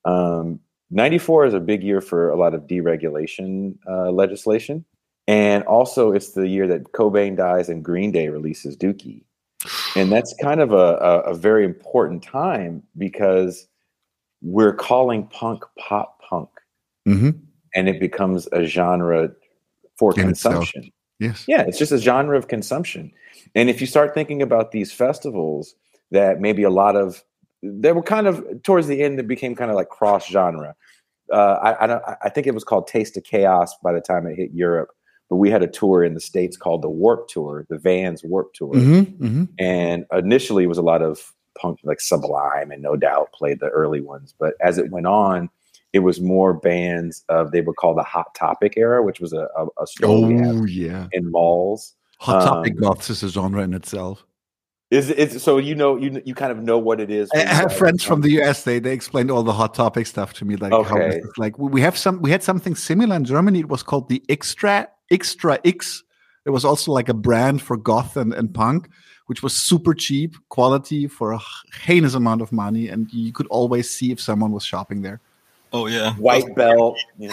um, ninety-four is a big year for a lot of deregulation uh, legislation. And also it's the year that Cobain dies and Green Day releases Dookie. And that's kind of a, a, a very important time because we're calling punk pop punk. Mm-hmm. And it becomes a genre for in consumption. Itself. Yes. Yeah, it's just a genre of consumption. And if you start thinking about these festivals that maybe a lot of, they were kind of, towards the end, it became kind of like cross genre. Uh, I, I, don't, I think it was called Taste of Chaos by the time it hit Europe. But we had a tour in the States called the Warp Tour, the Vans Warp Tour. Mm-hmm, mm-hmm. And initially it was a lot of punk, like Sublime and No Doubt played the early ones. But as it went on, it was more bands of, they were called the Hot Topic era, which was a, a, a store oh, we had yeah. in malls. Hot Topic um, goths is a genre in itself. Is it, so you know, you you kind of know what it is. I have friends from the U S. They they explained all the Hot Topic stuff to me. Like, okay. how this is like we have some, we had something similar in Germany. It was called the Extra, Extra X. It was also like a brand for goth and, and punk, which was super cheap quality for a heinous amount of money. And you could always see if someone was shopping there. Oh, yeah. White belt, you know,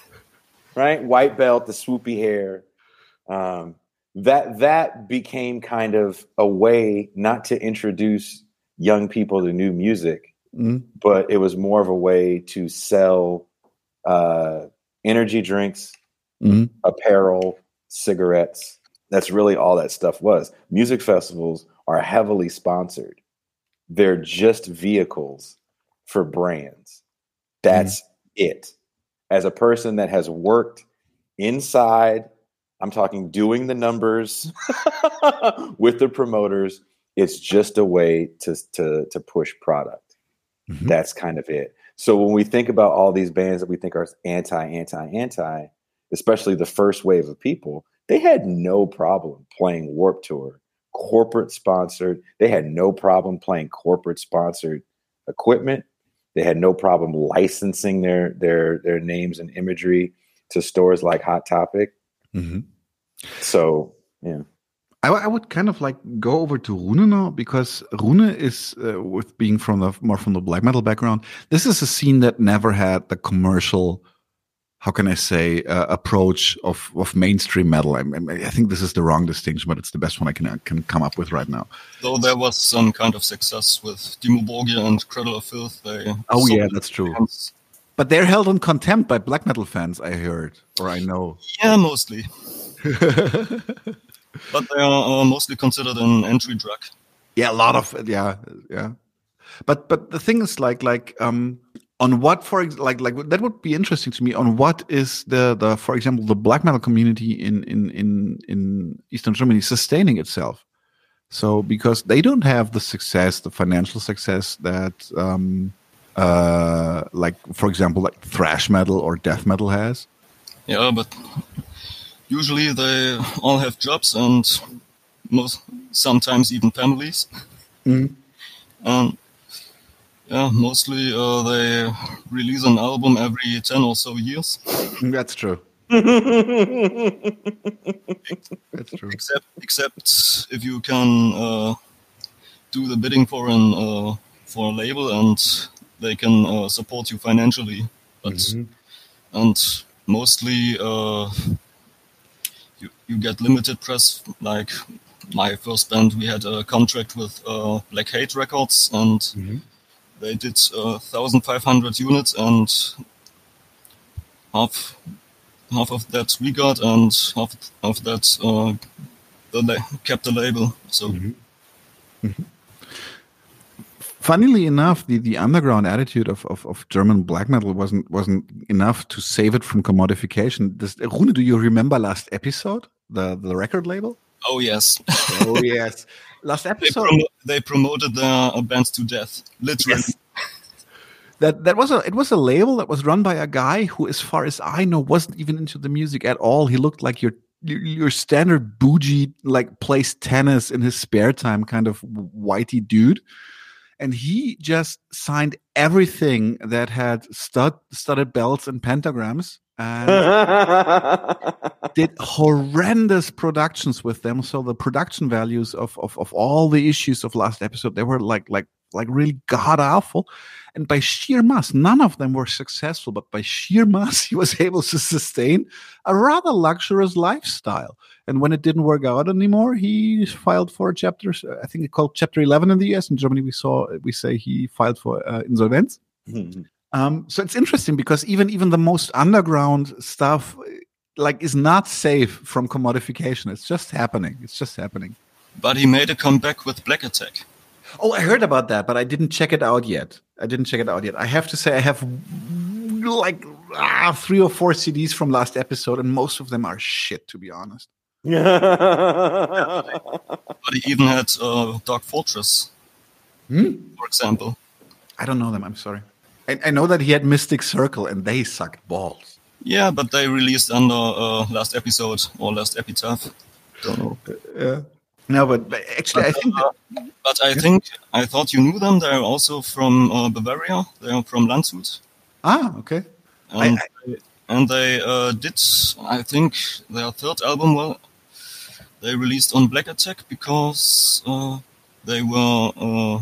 right? White belt, the swoopy hair. Um, that that became kind of a way not to introduce young people to new music, mm-hmm. but it was more of a way to sell uh, energy drinks, mm-hmm. apparel, cigarettes. That's really all that stuff was. Music festivals are heavily sponsored. They're just vehicles for brands. That's mm-hmm. it. As a person that has worked inside, I'm talking doing the numbers with the promoters, it's just a way to, to, to push product. Mm-hmm. That's kind of it. So when we think about all these bands that we think are anti, anti, anti, especially the first wave of people, they had no problem playing Warped Tour, corporate sponsored. They had no problem playing corporate sponsored equipment. They had no problem licensing their their their names and imagery to stores like Hot Topic. Mm-hmm. So, yeah. I, I would kind of like go over to Rune now, because Rune is, uh, with being from the more from the black metal background, this is a scene that never had the commercial, how can I say, uh, approach of, of mainstream metal. I, I think this is the wrong distinction, but it's the best one I can uh, can come up with right now. Though there was some kind of success with Dimmu Borgir and Cradle of Filth. They oh yeah, that's true. Fans. But they're held in contempt by black metal fans, I heard, or I know. Yeah, mostly. But they are uh, mostly considered an entry drug. Yeah, a lot of, yeah, yeah. But but the thing is, like like um, on what for ex- like like that would be interesting to me. On what is the the for example the black metal community in in in in Eastern Germany sustaining itself? So because they don't have the success, the financial success that um, uh, like for example like thrash metal or death metal has. Yeah, but usually they all have jobs and most sometimes even families. Mm. And yeah, mostly uh, they release an album every ten or so years. That's true. That's true. Except, except if you can uh, do the bidding for an uh, for a label and they can uh, support you financially. But Mm-hmm. and mostly uh, you you get limited press. Like my first band, we had a contract with uh, Black Hate Records, and Mm-hmm. they did uh, one thousand five hundred units, and half half of that we got, and half of that uh, the la- kept the label. So Mm-hmm. Mm-hmm. Funnily enough, the, the underground attitude of, of, of German black metal wasn't wasn't enough to save it from commodification. This, Rune, do you remember last episode, the the record label? oh yes, Oh yes, last they, episode. promo- they promoted their uh, bands to death, literally. Yes. That that was a it was a label that was run by a guy who, as far as I know, wasn't even into the music at all. He looked like your your, your standard bougie, like plays tennis in his spare time kind of whitey dude. And he just signed everything that had stud, studded belts and pentagrams and did horrendous productions with them. So the production values of, of, of all the issues of last episode, they were like like like really god awful. And by sheer mass, none of them were successful, but by sheer mass, he was able to sustain a rather luxurious lifestyle. And when it didn't work out anymore, he filed for a chapter, I think it's called Chapter eleven in the U S. In Germany, we saw we say he filed for uh, insolvenz. Mm-hmm. Um, so it's interesting because even even the most underground stuff, like, is not safe from commodification. It's just happening. It's just happening. But he made a comeback with Black Attack. Oh, I heard about that, but I didn't check it out yet. I didn't check it out yet. I have to say I have like ah, three or four C Ds from last episode, and most of them are shit, to be honest. But he even had uh, Dark Fortress, Hmm? for example. I don't know them. I'm sorry. I, I know that he had Mystic Circle, and they sucked balls. Yeah, but they released under uh, last episode or last epitaph. Don't know. Yeah. No, but, but actually, But, I think. uh, but I think I thought you knew them. They're also from uh, Bavaria. They're from Landshut, Ah, okay. and I- they, and they uh, did. I think their third album. Well, they released on Black Attack because uh, they were uh,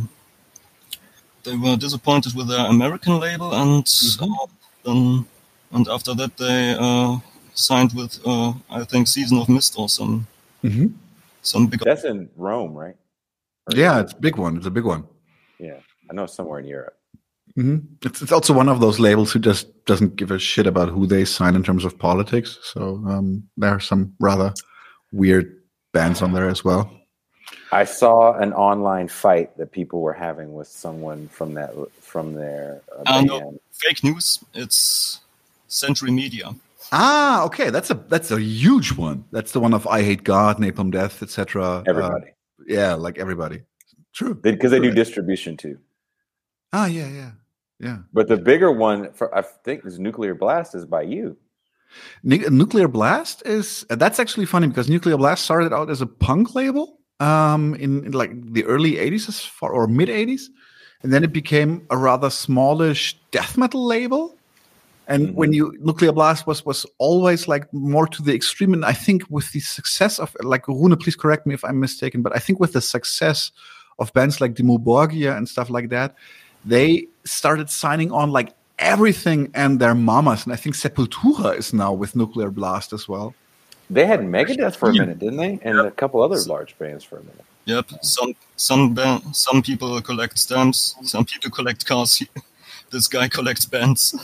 they were disappointed with their American label, and Mhm. uh, then and after that they uh, signed with uh, I think Season of Mist or some Mhm. some big. That's in Rome, right? Or- Yeah, it's a big one. It's a big one. Yeah, I know somewhere in Europe. hmm It's it's also one of those labels who just doesn't give a shit about who they sign in terms of politics. So um, there are some rather weird bands on there as well. I saw an online fight that people were having with someone from that from their uh, Uh, band. no, fake news. It's Century Media. Ah, okay, that's a that's a huge one. That's the one of I Hate God, Napalm Death, et cetera. Everybody, Uh, yeah, like everybody. True. because they, do True. distribution too. Ah, yeah, yeah, yeah. But the bigger one, for I think, is Nuclear Blast is by you. Nu- Nuclear Blast is uh, that's actually funny because Nuclear Blast started out as a punk label um, in, in like the early eighties as far, or mid eighties, and then it became a rather smallish death metal label. And Mhm. when you Nuclear Blast was was always like more to the extreme, and I think with the success of, like, Rune, please correct me if I'm mistaken, but I think with the success of bands like Dimmu Borgir and stuff like that, they started signing on like everything and their mamas. And I think Sepultura is now with Nuclear Blast as well. They had Megadeth for a Yeah. minute, didn't they? And a couple other large bands for a minute. Yep. Some some ba- some people collect stamps. Some people collect cars. This guy collects bands.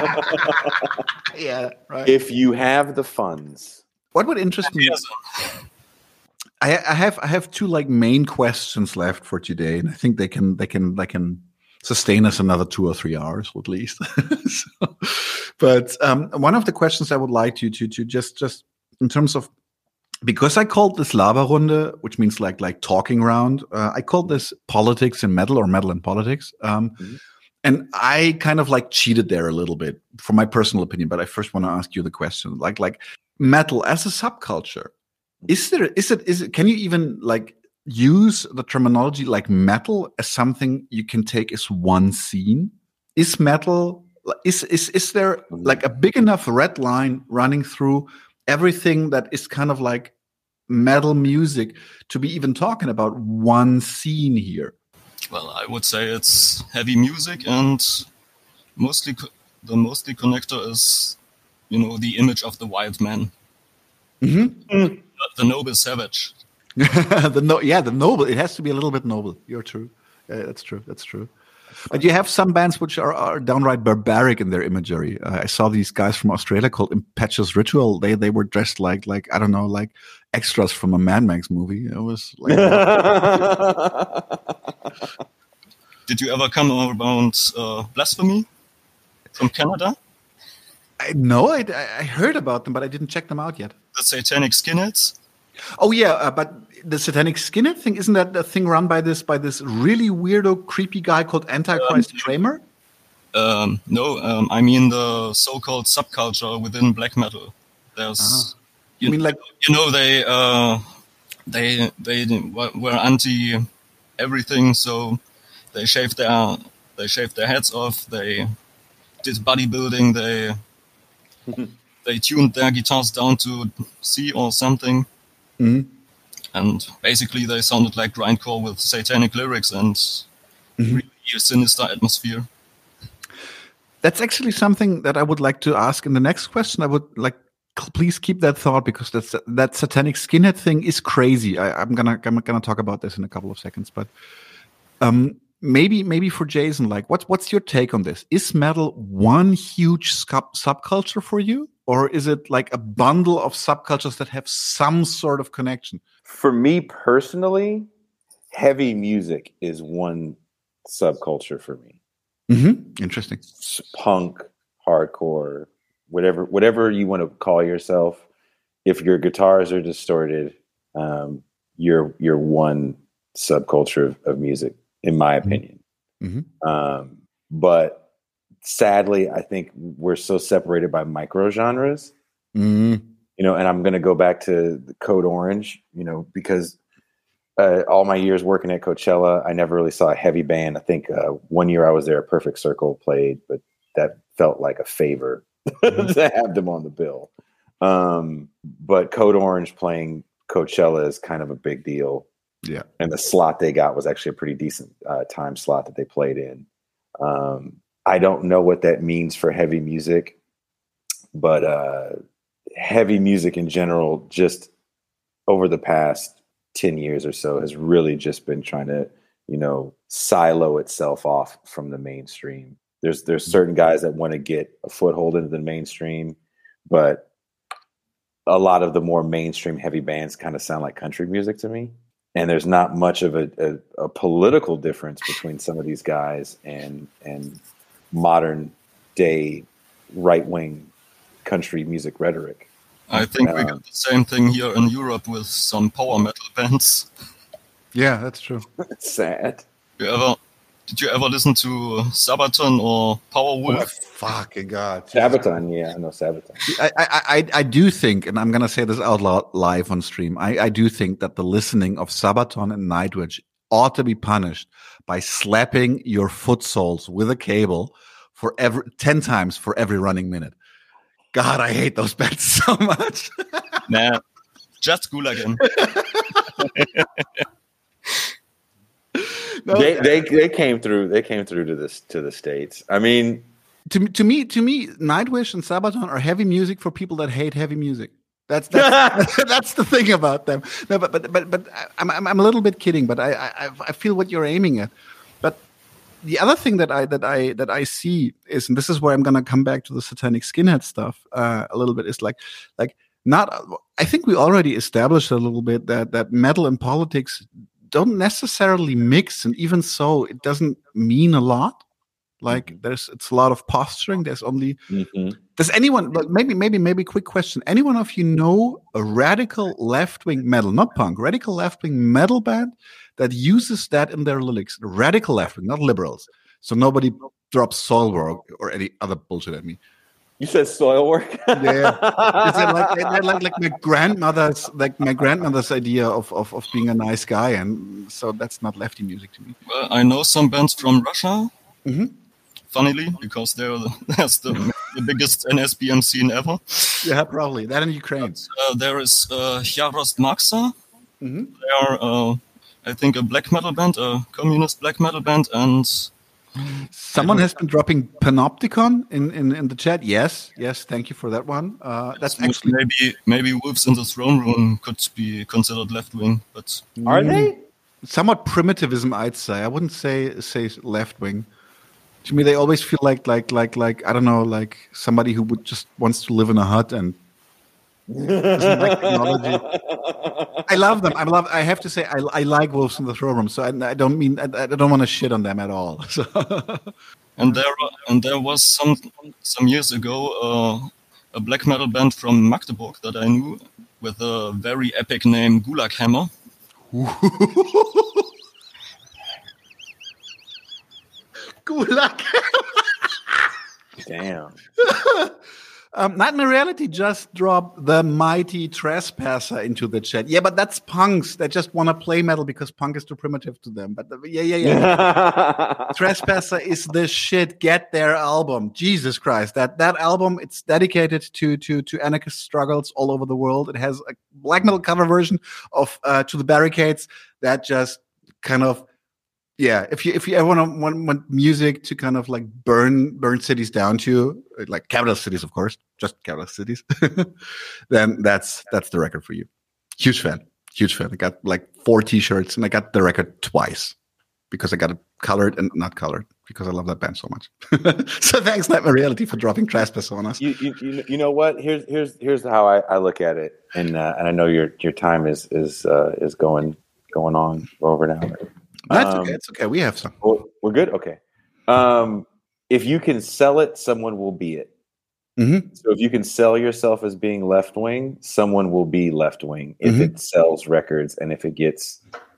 Yeah, right. If you have the funds, What would interest me? Yes. I, I have I have two like main questions left for today, and I think they can they can they can sustain us another two or three hours at least. so, but um, one of the questions I would like you to to just just in terms of, because I called this Laberrunde, which means like like talking round. Uh, I called this politics and metal, or metal and politics. Um, mm-hmm. And I kind of like cheated there a little bit, for my personal opinion. But I first want to ask you the question: like like metal as a subculture, is there is it is it? Can you even like use the terminology like metal as something you can take as one scene? Is metal is is is there like a big enough red line running through everything that is kind of like metal music to be even talking about one scene here? Well, I would say it's heavy music, and mostly co- the mostly connector is, you know, the image of the wild man, mm-hmm. the, the noble savage. the no, yeah, the noble. It has to be a little bit noble. You're true. Yeah, that's true. That's true. But you have some bands which are, are downright barbaric in their imagery. Uh, I saw these guys from Australia called Impetuous Ritual. They they were dressed like like I don't know, like extras from a Mad Max movie. It was like. Did you ever come around uh, Blasphemy from Canada? I know. I, I heard about them, but I didn't check them out yet. The Satanic Skinheads. Oh yeah, uh, but the Satanic Skinhead thing, isn't that the thing run by this by this really weirdo, creepy guy called Antichrist um, Kramer? Um, no, um, I mean the so-called subculture within black metal. There's, ah. you, you mean like you know they uh, they they were anti everything, so they shaved their they shaved their heads off. They did bodybuilding. They they tuned their guitars down to C or something. Mm-hmm. And basically they sounded like grindcore with satanic lyrics and mm-hmm. really a sinister atmosphere. That's actually something that I would like to ask in the next question. I would like, please keep that thought, because that's, that Satanic Skinhead thing is crazy. I, I'm gonna I'm gonna talk about this in a couple of seconds, but um, maybe maybe for Jason, like, what's what's your take on this? Is metal one huge sub- subculture for you? Or is it like a bundle of subcultures that have some sort of connection? For me personally, heavy music is one subculture for me. Mm-hmm. Interesting. Punk, hardcore, whatever whatever you want to call yourself. If your guitars are distorted, um, you're you're one subculture of, of music, in my opinion. Mm-hmm. Um, but sadly, I think we're so separated by micro genres, mm-hmm. you know, and I'm going to go back to the Code Orange, you know, because uh, all my years working at Coachella, I never really saw a heavy band. I think uh, one year I was there, Perfect Circle played, but that felt like a favor to have them on the bill. Um, but Code Orange playing Coachella is kind of a big deal. Yeah. And the slot they got was actually a pretty decent uh, time slot that they played in. Um, I don't know what that means for heavy music, but uh, heavy music in general, just over the past ten years or so, has really just been trying to, you know, silo itself off from the mainstream. There's there's certain guys that want to get a foothold into the mainstream, but a lot of the more mainstream heavy bands kind of sound like country music to me. And there's not much of a, a, a political difference between some of these guys and and modern day right wing country music rhetoric. I think um, we got the same thing here in Europe with some power metal bands. Yeah, that's true. It's sad. You ever did you ever listen to Sabaton or Powerwolf? Oh, fucking God. Sabaton, yeah, I know Sabaton. I, I, I, I do think, and I'm going to say this out loud live on stream, I, I do think that the listening of Sabaton and Nightwish ought to be punished by slapping your foot soles with a cable for every ten times for every running minute. God, I hate those bands so much. Nah, just Gulagen. No, they, they they came through. They came through to this to the States. I mean, to to me, to me, Nightwish and Sabaton are heavy music for people that hate heavy music. That's that's, that's the thing about them. No, but but but but I'm I'm, I'm a little bit kidding, but I, I I feel what you're aiming at. But the other thing that I that I that I see is, and this is where I'm going to come back to the Satanic Skinhead stuff uh, a little bit, is like like not. I think we already established a little bit that that metal and politics don't necessarily mix, and even so, it doesn't mean a lot. Like Mhm. there's, it's a lot of posturing. There's only. Mhm. Does anyone? But maybe, maybe, maybe. Quick question: anyone of you know a radical left-wing metal, not punk, radical left-wing metal band that uses that in their lyrics? Radical left-wing, not liberals. So nobody drops Soilwork or any other bullshit at me. You said soil work. Yeah, is it like they're like like my grandmother's like my grandmother's idea of, of of being a nice guy, and so that's not lefty music to me. Well, I know some bands from Russia. Mhm. Funnily, because they're the, that's the, the biggest N S B M scene ever. Yeah, probably that in Ukraine. But, uh, there is uh, Yarost Maxa. Mhm. They are, uh, I think, a black metal band, a communist black metal band, and Someone has been dropping Panopticon in, in, in the chat. Yes, yes, thank you for that one. Uh, that's actually maybe maybe Wolves in the Throne Room could be considered left wing, but Are they? somewhat primitivism, I'd say. I wouldn't say say left wing. To me, they always feel like like like like I don't know, like somebody who would just wants to live in a hut and doesn't like technology. I love them. I love. I have to say, I, I like Wolves in the Throne Room. So I, I don't mean I, I don't want to shit on them at all. So. And there and there was some some years ago uh, a black metal band from Magdeburg that I knew with a very epic name, Gulag Hammer. Gulag. Damn. Um, Nightmare Reality just dropped the mighty Trespasser into the chat. Yeah, but that's punks that just want to play metal because punk is too primitive to them. But the, yeah, yeah, yeah. Trespasser is the shit. Get their album. Jesus Christ. That that album, it's dedicated to to to anarchist struggles all over the world. It has a black metal cover version of uh, To the Barricades that just kind of yeah, if you if you ever want, want want music to kind of like burn burn cities down to, like capital cities, of course, just capital cities, then that's that's the record for you. Huge fan, huge fan. I got like four T-shirts, and I got the record twice because I got it colored and not colored because I love that band so much. So thanks, Nightmare Reality, for dropping Trespasser on us. You, you, you, you know what? Here's here's here's how I, I look at it, and uh, and I know your your time is is uh, is going going on over now. That's um, okay. It's okay. We have some. We're, we're good. Okay. Um, if you can sell it, someone will be it. Mm-hmm. So if you can sell yourself as being left wing, someone will be left wing if Mm-hmm. it sells records and if it gets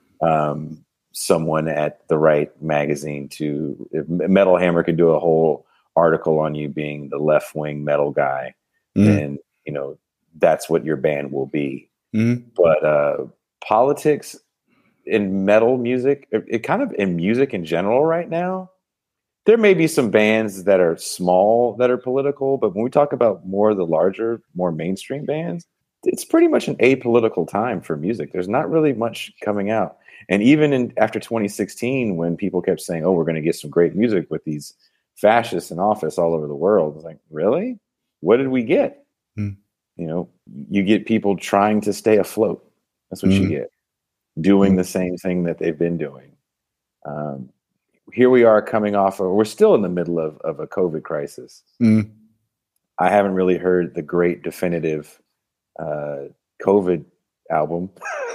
um, someone at the right magazine to. If Metal Hammer could do a whole article on you being the left wing metal guy, Mm-hmm. then you know that's what your band will be. Mm-hmm. But uh, politics in metal music, it, it kind of in music in general right now, there may be some bands that are small that are political, but when we talk about more of the larger, more mainstream bands, it's pretty much an apolitical time for music. There's not really much coming out. And even in after twenty sixteen, when people kept saying, oh, we're going to get some great music with these fascists in office all over the world, it's like, really? What did we get? Mm. You know, you get people trying to stay afloat. That's what Mm. you get. Doing the same thing that they've been doing. Um, here we are coming off of, we're still in the middle of, of a COVID crisis. Mm. I haven't really heard the great definitive uh, COVID album.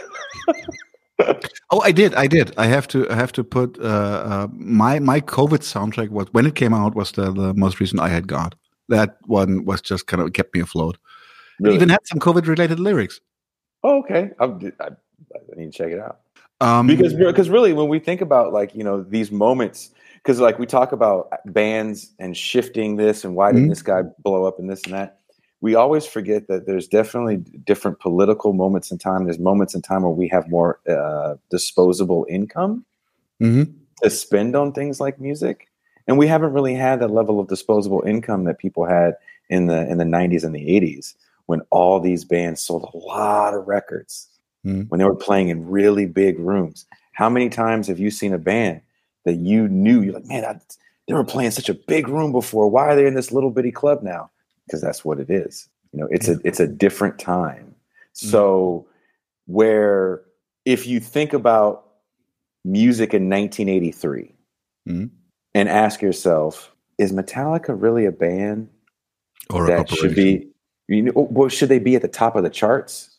Oh, I did. I did. I have to. I have to put uh, uh, my my COVID soundtrack was when it came out was the, the most recent I Had God. That one was just kind of kept me afloat. Really? It even had some COVID related lyrics. Oh, okay. I'm, I, I need to check it out. Um, Because because really, when we think about like you know these moments, because like we talk about bands and shifting this and why didn't Mhm. this guy blow up and this and that, we always forget that there's definitely different political moments in time. There's moments in time where we have more uh, disposable income mhm. to spend on things like music, and we haven't really had that level of disposable income that people had in the in the nineties and the eighties when all these bands sold a lot of records. Mhm. When they were playing in really big rooms. How many times have you seen a band that you knew, you're like, man, I, they were playing such a big room before. Why are they in this little bitty club now? Because that's what it is. You know, it's a it's a different time. So where if you think about music in nineteen eighty-three Mhm. and ask yourself, is Metallica really a band Or a that should corporation. be, you know, well, should they be at the top of the charts?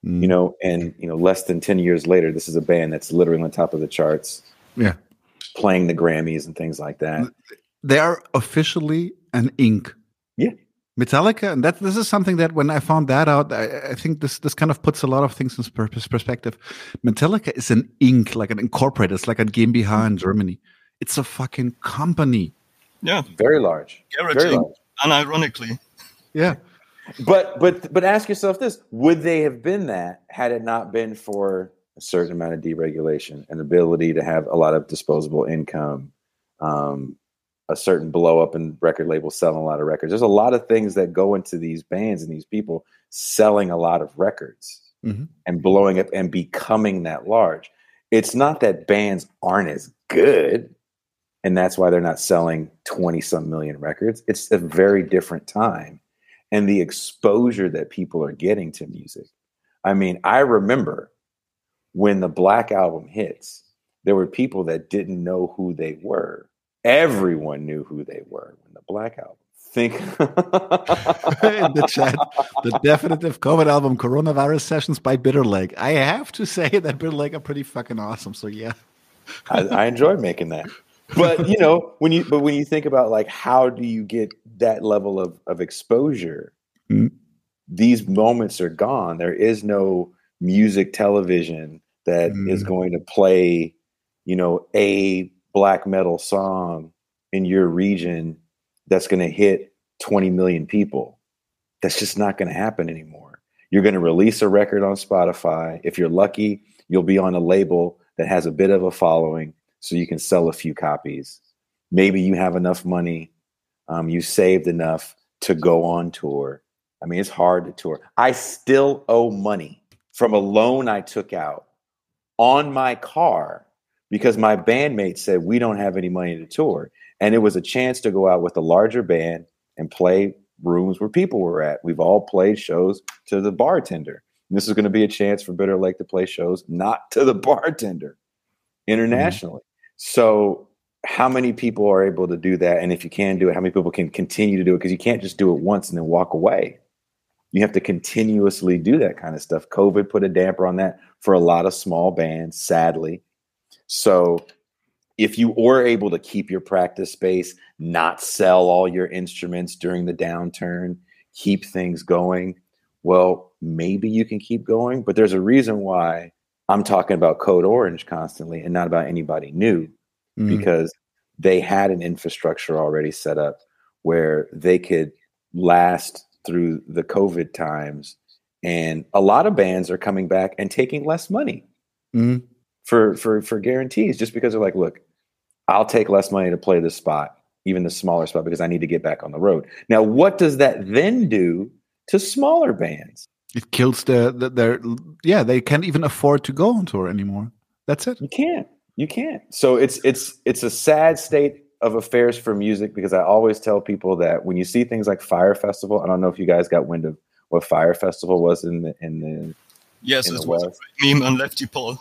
Mm. You know, and you know, less than ten years later, this is a band that's literally on top of the charts. Yeah. Playing the Grammys and things like that. They are officially an ink. Yeah. Metallica, and that this is something that when I found that out, I, I think this this kind of puts a lot of things in per- perspective. Metallica is an ink, like an incorporated. It's like a GmbH in Germany. It's a fucking company. Yeah, very large. Garage very Inc, large. unironically. Yeah, but but but ask yourself this: would they have been that had it not been for a certain amount of deregulation and ability to have a lot of disposable income? Um, a certain blow up in record labels selling a lot of records. There's a lot of things that go into these bands and these people selling a lot of records mm-hmm. and blowing up and becoming that large. It's not that bands aren't as good and that's why they're not selling twenty some million records. It's a very different time and the exposure that people are getting to music. I mean, I remember when the Black Album hits, there were people that didn't know who they were. Everyone knew who they were when the Black Album. Think in the chat, the definitive COVID album, Coronavirus Sessions by Bitter Lake. I have to say that Bitter Lake are pretty fucking awesome. So yeah, I, I enjoyed making that. But you know, when you but when you think about like how do you get that level of of exposure, mm-hmm. these moments are gone. There is no music television that mm-hmm. is going to play, you know, a black metal song in your region that's going to hit twenty million people. That's just not going to happen anymore. You're going to release a record on Spotify. If you're lucky, you'll be on a label that has a bit of a following so you can sell a few copies. Maybe you have enough money. Um, you saved enough to go on tour. I mean, it's hard to tour. I still owe money from a loan I took out on my car because my bandmates said, we don't have any money to tour. And it was a chance to go out with a larger band and play rooms where people were at. We've all played shows to the bartender. And this is going to be a chance for Bitter Lake to play shows, not to the bartender, internationally. Mm-hmm. So how many people are able to do that? And if you can do it, how many people can continue to do it? Because you can't just do it once and then walk away. You have to continuously do that kind of stuff. COVID put a damper on that for a lot of small bands, sadly. So if you were able to keep your practice space, not sell all your instruments during the downturn, keep things going, well, maybe you can keep going. But there's a reason why I'm talking about Code Orange constantly and not about anybody new, mm-hmm. because they had an infrastructure already set up where they could last through the COVID times. And a lot of bands are coming back and taking less money. Mm-hmm. For, for for guarantees, just because they're like, look, I'll take less money to play this spot, even the smaller spot, because I need to get back on the road. Now, what does that then do to smaller bands? It kills the, the their yeah, they can't even afford to go on tour anymore. That's it. You can't. You can't. So it's it's it's a sad state of affairs for music, because I always tell people that when you see things like Fire Festival, I don't know if you guys got wind of what Fire Festival was in the in the yes, in it the was West. a meme on Lefty Paul.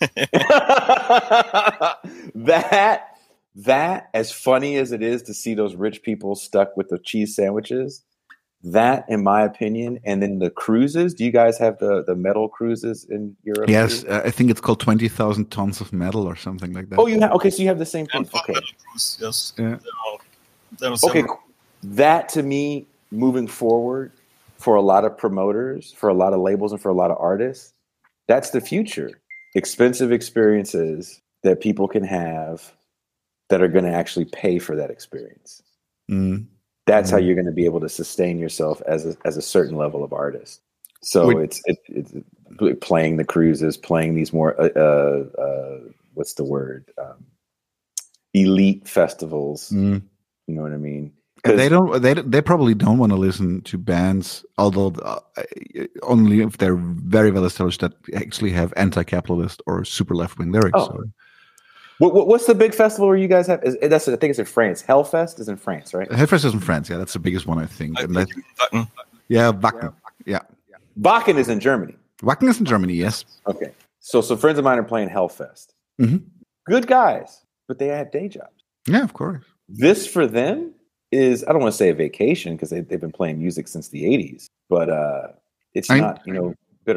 that that as funny as it is to see those rich people stuck with the cheese sandwiches, that in my opinion, and then the cruises. Do you guys have the the metal cruises in Europe? Yes, uh, I think it's called twenty thousand tons of metal or something like that. Oh, you have okay, so you have the same thing. And okay, metal cruise, yes. Yeah. There are, there are okay. several. That to me, moving forward, for a lot of promoters, for a lot of labels, and for a lot of artists, that's the future. Expensive experiences that people can have that are going to actually pay for that experience. Mm. That's mm. how you're going to be able to sustain yourself as a, as a certain level of artist. So Wait. it's, it, it's playing the cruises, playing these more, uh, uh, uh, what's the word? Um, elite festivals. Mm. You know what I mean? They don't. They they probably don't want to listen to bands, although uh, only if they're very well established that actually have anti-capitalist or super left-wing lyrics. Oh. So. What, what, what's the big festival where you guys have? Is, that's I think it's in France. Hellfest is in France, right? Hellfest is in France. Yeah, that's the biggest one, I think. I and think that, Wacken. yeah, Wacken. Yeah, Wacken is in Germany. Wacken is in Germany. Yes. Okay, so some friends of mine are playing Hellfest. Mm-hmm. Good guys, but they have day jobs. Yeah, of course. This for them is, I don't want to say a vacation because they, they've been playing music since the eighties, but uh, it's I, not, you know, Bitter Lake.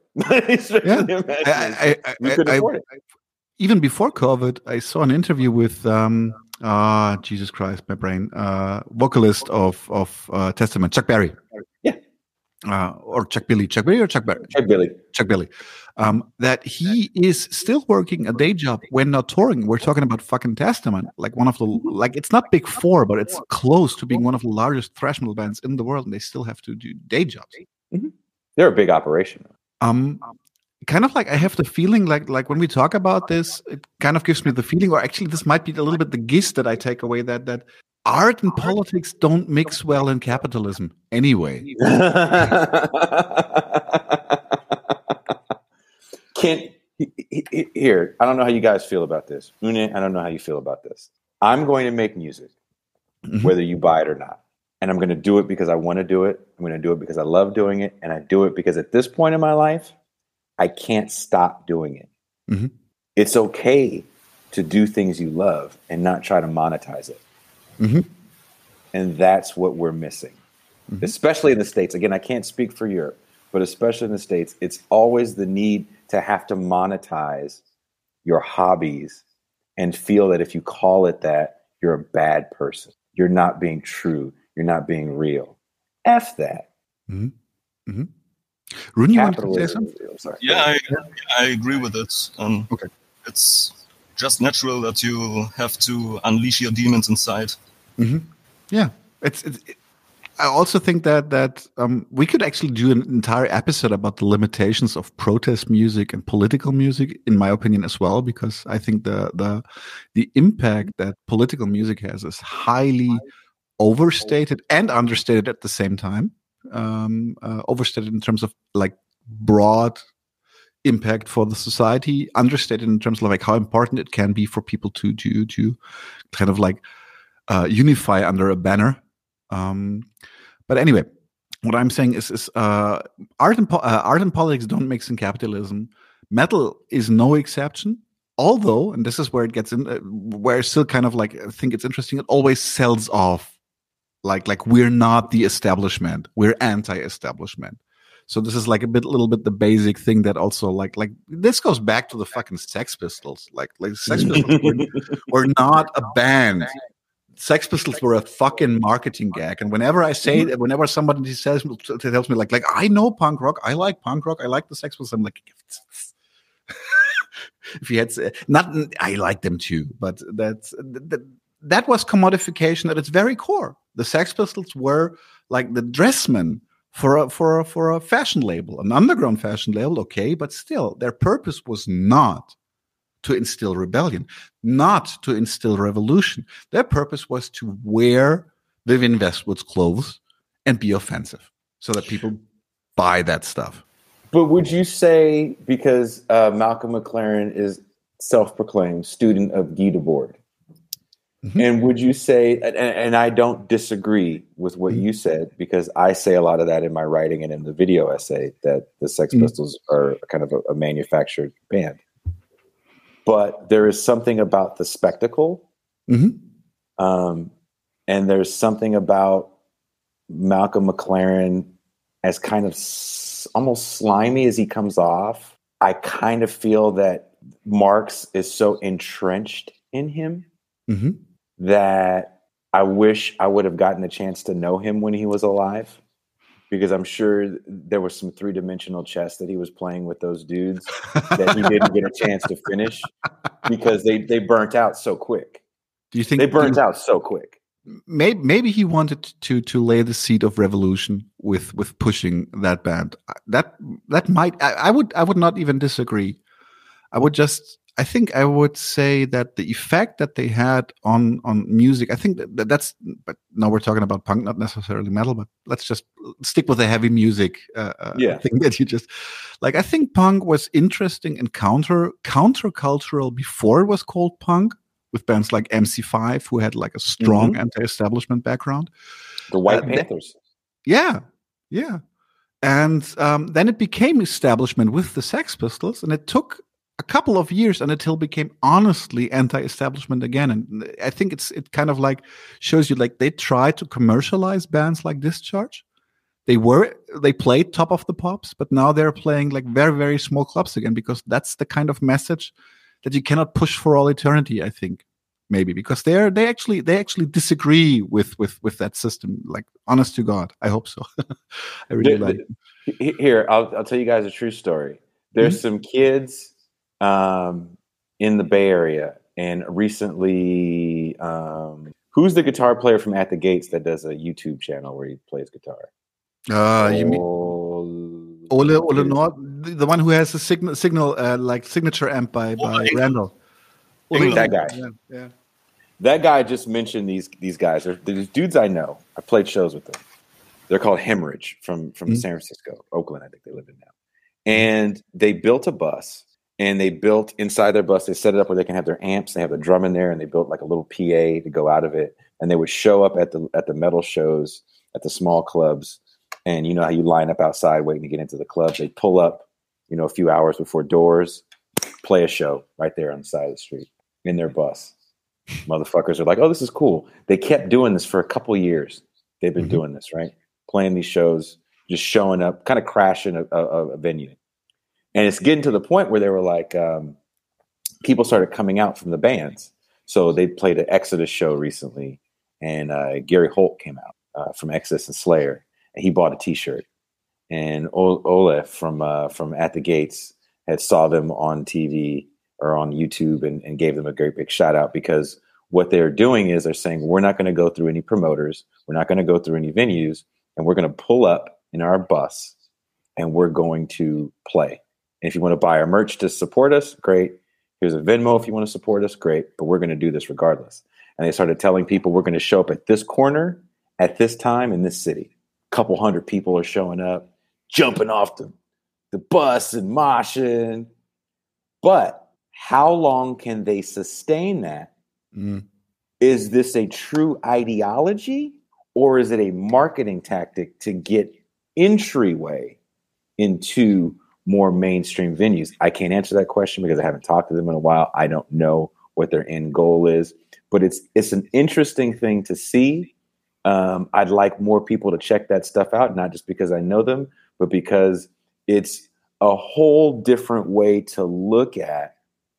Especially Yeah. Imagination. I, I, we I, couldn't I, afford it. I, even before COVID, I saw an interview with um, uh, Jesus Christ, my brain, uh, vocalist of of uh, Testament, Chuck Berry. Yeah. Uh, or Chuck Billy, Chuck Billy or Chuck Berry? Chuck Billy. Chuck Billy. Um, that he is still working a day job when not touring. We're talking about fucking Testament, like one of the, like it's not big four, but it's close to being one of the largest thrash metal bands in the world, and they still have to do day jobs. Mm-hmm. They're a big operation. Um, kind of like I have the feeling like like when we talk about this, it kind of gives me the feeling, or actually this might be a little bit the gist that I take away, that that art and politics don't mix well in capitalism anyway. Can here, I don't know how you guys feel about this. Une, I don't know how you feel about this. I'm going to make music, mm-hmm. whether you buy it or not. And I'm going to do it because I want to do it. I'm going to do it because I love doing it. And I do it because at this point in my life, I can't stop doing it. Mm-hmm. It's okay to do things you love and not try to monetize it. Mm-hmm. And that's what we're missing, mm-hmm. especially in the States. Again, I can't speak for Europe, but especially in the States, it's always the need to have to monetize your hobbies and feel that if you call it that, you're a bad person. You're not being true. You're not being real. F that. Mm-hmm. Mm-hmm. Rune, you want to say something? Sorry. Yeah, I, I agree with it. Um, okay. It's just natural that you have to unleash your demons inside. Mm-hmm. Yeah, it's. it's it, I also think that that um, we could actually do an entire episode about the limitations of protest music and political music, in my opinion, as well, because I think the the the impact that political music has is highly overstated and understated at the same time. Um, uh, overstated in terms of like broad impact for the society, understated in terms of like how important it can be for people to to to kind of like uh, unify under a banner. Um, but anyway, what I'm saying is, is uh, art and po- uh, art and politics don't mix in capitalism. Metal is no exception. Although, and this is where it gets in, uh, where I still kind of like I think it's interesting. It always sells off like like we're not the establishment. We're anti-establishment. So this is like a bit, little bit the basic thing that also like like this goes back to the fucking Sex Pistols. Like like Sex Pistols were, were not a band. Sex Pistols were a fucking marketing gag. And whenever I say that, whenever somebody says tells me like like I know punk rock, I like punk rock, I like the Sex Pistols, I'm like, if you had not, I like them too, but that's that, that was commodification at its very core. The Sex Pistols were like the dressmen for a, for a, for a fashion label, an underground fashion label, okay, but still, their purpose was not to instill rebellion, not to instill revolution. Their purpose was to wear Vivienne Westwood's clothes and be offensive so that people buy that stuff. But would you say, because uh, Malcolm McLaren is self-proclaimed student of Guy Debord, mm-hmm. and would you say, and, and I don't disagree with what mm-hmm. you said, because I say a lot of that in my writing and in the video essay, that the Sex mm-hmm. Pistols are kind of a, a manufactured band. But there is something about the spectacle, mm-hmm. um, and there's something about Malcolm McLaren as kind of s- almost slimy as he comes off. I kind of feel that Marx is so entrenched in him mm-hmm. that I wish I would have gotten a chance to know him when he was alive, because I'm sure there was some three-dimensional chess that he was playing with those dudes that he didn't get a chance to finish because they, they burnt out so quick. Do you think they burnt you, out so quick? Maybe, maybe he wanted to to lay the seed of revolution with with pushing that band. That that might I, I would I would not even disagree. I would just I think I would say that the effect that they had on on music, I think that that's, but now we're talking about punk, not necessarily metal, but let's just stick with the heavy music uh, yeah. thing that you just, like, I think punk was interesting and counter countercultural before it was called punk, with bands like M C five, who had like a strong mm-hmm. anti-establishment background. The White uh, Panthers. They, yeah, yeah. And um, then it became establishment with the Sex Pistols, and it took a couple of years until it became honestly anti-establishment again. And I think it's it kind of like shows you like they tried to commercialize bands like Discharge. They were they played Top of the Pops, but now they're playing like very, very small clubs again, because that's the kind of message that you cannot push for all eternity, I think. Maybe because they're they actually they actually disagree with with with that system. Like, honest to God, I hope so. I really the, like the, it. Here, I'll I'll tell you guys a true story. There's mm-hmm. some kids um, in the Bay Area, and recently, um, who's the guitar player from At the Gates that does a YouTube channel where he plays guitar? Uh, oh, you mean Ole Ole Nord, the, the one who has a signal signal uh, like signature amp by by oh, Randall. Ole, that guy. Yeah, yeah. That guy just mentioned these these guys. They're, they're dudes I know. I played shows with them. They're called Hemorrhage from from mm-hmm. San Francisco, Oakland, I think they live in now. And they built a bus, and they built inside their bus. They set it up where they can have their amps. They have the drum in there, and they built like a little P A to go out of it. And they would show up at the at the metal shows at the small clubs. And you know how you line up outside waiting to get into the club. They pull up, you know, a few hours before doors, play a show right there on the side of the street in their bus. Motherfuckers are like, oh, this is cool. They kept doing this for a couple of years. They've been mm-hmm. doing this, right? Playing these shows, just showing up, kind of crashing a, a, a venue. And it's getting to the point where they were like, um, people started coming out from the bands. So they played an Exodus show recently, and uh, Gary Holt came out uh, from Exodus and Slayer, and he bought a T-shirt. And o- Ole from uh, from At the Gates had saw them on T V or on YouTube and, and gave them a great big shout out, because what they're doing is they're saying, we're not going to go through any promoters. We're not going to go through any venues, and we're going to pull up in our bus and we're going to play. And if you want to buy our merch to support us, great. Here's a Venmo if you want to support us, great. But we're going to do this regardless. And they started telling people, we're going to show up at this corner at this time in this city. A couple hundred people are showing up, jumping off the, the bus and moshing. But how long can they sustain that? Mm. Is this a true ideology, or is it a marketing tactic to get entryway into more mainstream venues? I can't answer that question because I haven't talked to them in a while. I don't know what their end goal is, but it's it's an interesting thing to see. Um, I'd like more people to check that stuff out, not just because I know them, but because it's a whole different way to look at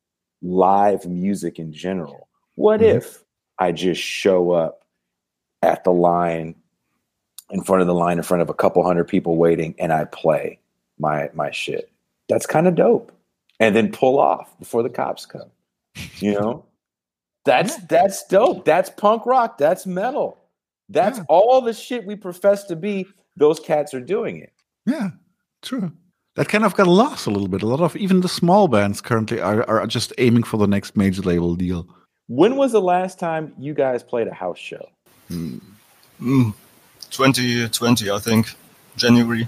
live music in general. What mm-hmm. if I just show up at the line, in front of the line, in front of a couple hundred people waiting, and I play my my shit? That's kind of dope. And then pull off before the cops come. You know? That's that's dope. That's punk rock. That's metal. That's yeah. all the shit we profess to be. Those cats are doing it. Yeah, true. That kind of got lost a little bit. A lot of even the small bands currently are, are just aiming for the next major label deal. When was the last time you guys played a house show? Mm. Mm. twenty twenty, I think. January.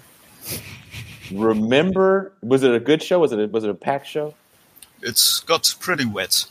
Remember, was it a good show? Was it a, was it a packed show? It's got pretty wet.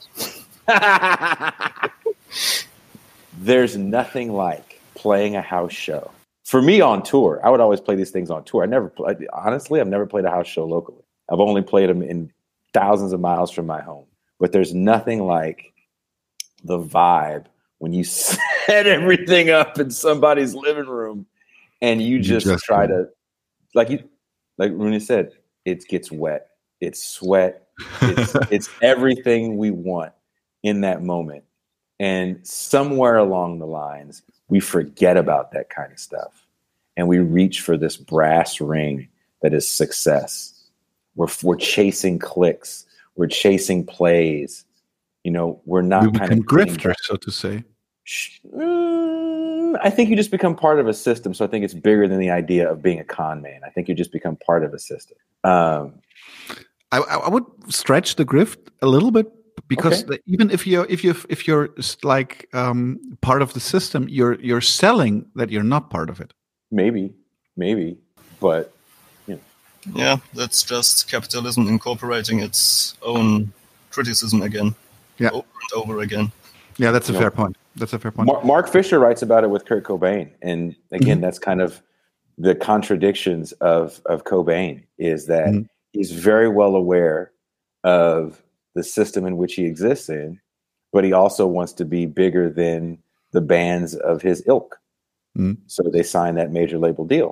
There's nothing like playing a house show. For me on tour, I would always play these things on tour. I never played, honestly, I've never played a house show locally. I've only played them in thousands of miles from my home. But there's nothing like the vibe when you set everything up in somebody's living room and you just, you just try to, like you, like Rooney said, it gets wet. It's sweat. It's, it's everything we want in that moment. And somewhere along the lines, we forget about that kind of stuff. And we reach for this brass ring that is success. We're, we're chasing clicks. We're chasing plays. You know, we're not we kind of grifters, so to say. Mm, I think you just become part of a system. So I think it's bigger than the idea of being a con man. I think you just become part of a system. Um, I, I would stretch the grift a little bit, because okay. the, even if you're if you if you're like um, part of the system, you're you're selling that you're not part of it. Maybe, maybe, but you know. Yeah, that's just capitalism incorporating its own criticism again, yeah, over and over again. Yeah, that's a you fair know, point. That's a fair point. Mark, Mark Fisher writes about it with Kurt Cobain, and again, mm-hmm. that's kind of the contradictions of of Cobain. Is that mm-hmm. he's very well aware of the system in which he exists in, but he also wants to be bigger than the bands of his ilk. Mm. So they signed that major label deal.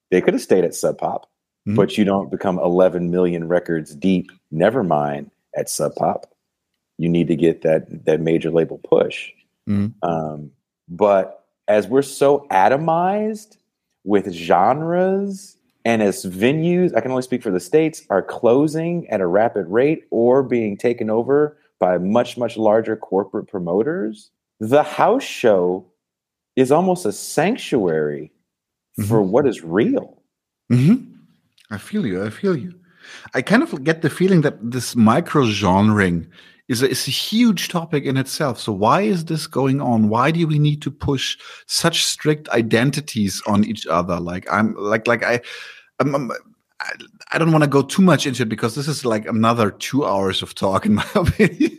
They could have stayed at Sub Pop, mm-hmm. but you don't become eleven million records deep, never mind, at Sub Pop. You need to get that that major label push. Mm-hmm. Um, but as we're so atomized with genres, and as venues, I can only speak for the States, are closing at a rapid rate or being taken over by much, much larger corporate promoters, the house show is almost a sanctuary mm-hmm. for what is real. Mm-hmm. I feel you. I feel you. I kind of get the feeling that this micro-genring is a, is a huge topic in itself. So why is this going on? Why do we need to push such strict identities on each other? Like I'm like like I, I'm, I'm, I, I don't want to go too much into it because this is like another two hours of talk in my opinion.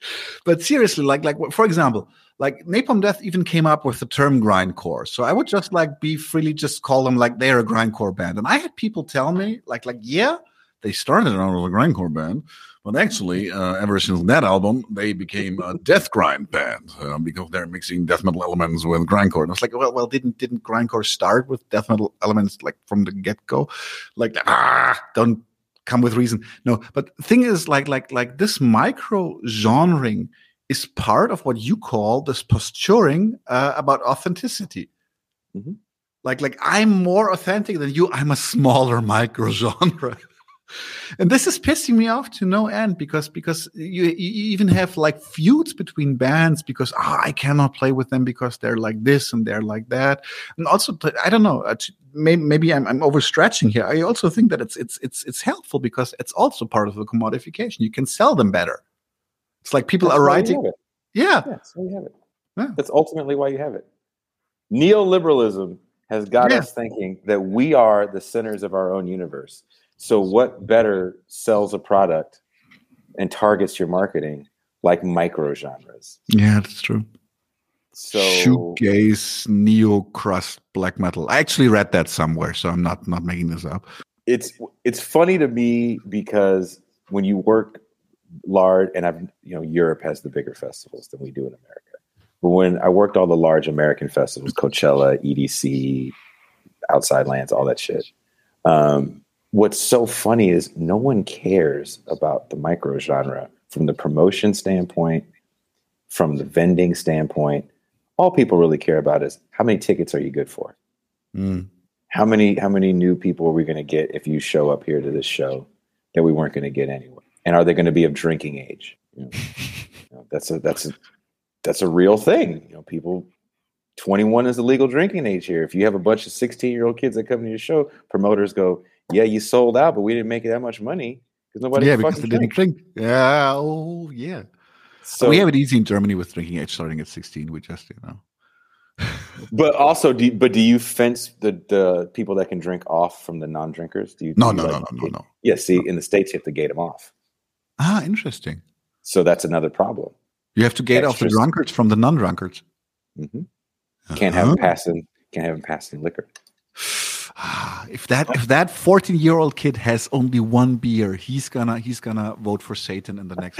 But seriously, like like for example, like Napalm Death even came up with the term grindcore. So I would just like be freely just call them like they're a grindcore band. And I had people tell me like like yeah, they started out as a grindcore band. But actually, uh, ever since that album, they became a death grind band uh, because they're mixing death metal elements with grindcore. And I was like, well, well, didn't didn't grindcore start with death metal elements like from the get go? Like, ah, don't come with reason. No, but the thing is, like, like, like this micro genring is part of what you call this posturing uh, about authenticity. Mm-hmm. Like, like I'm more authentic than you. I'm a smaller micro genre. And this is pissing me off to no end because because you, you even have like feuds between bands because oh, I cannot play with them because they're like this and they're like that. And also, I don't know, maybe, maybe I'm, I'm overstretching here. I also think that it's it's it's it's helpful because it's also part of the commodification. You can sell them better. It's like people that's are writing. Yeah, yeah, that's why you have it. Yeah. That's ultimately why you have it. Neoliberalism has got yeah. us thinking that we are the centers of our own universe. So what better sells a product and targets your marketing like micro genres? Yeah, that's true. So shoegaze, neo crust, black metal. I actually read that somewhere, so I'm not not making this up. It's it's funny to me because when you work large, and I've you know Europe has the bigger festivals than we do in America. But when I worked all the large American festivals, Coachella, E D C, Outside Lands, all that shit. Um, What's so funny is no one cares about the micro genre from the promotion standpoint, from the vending standpoint. All people really care about is how many tickets are you good for? Mm. How many how many new people are we going to get if you show up here to this show that we weren't going to get anyway? And are they going to be of drinking age? You know, you know, that's a that's a that's a real thing. You know, people. twenty-one is the legal drinking age here. If you have a bunch of sixteen-year-old kids that come to your show, promoters go, yeah, you sold out, but we didn't make that much money because nobody yeah, because fucking they drink. didn't drink. Yeah, oh, yeah. So we have it easy in Germany with drinking age starting at sixteen. We just, you know. But also, do you, but do you fence the, the people that can drink off from the non-drinkers? Do you? No, do no, you no, like, no, no, no. Yeah, see, no. in the States, you have to gate them off. Ah, interesting. So that's another problem. You have to gate Extras. off the drunkards from the non-drunkards. Mm-hmm. Can't have uh-huh. them passing. Can't have them passing liquor. If that if that fourteen year old kid has only one beer, he's gonna he's gonna vote for Satan in the next.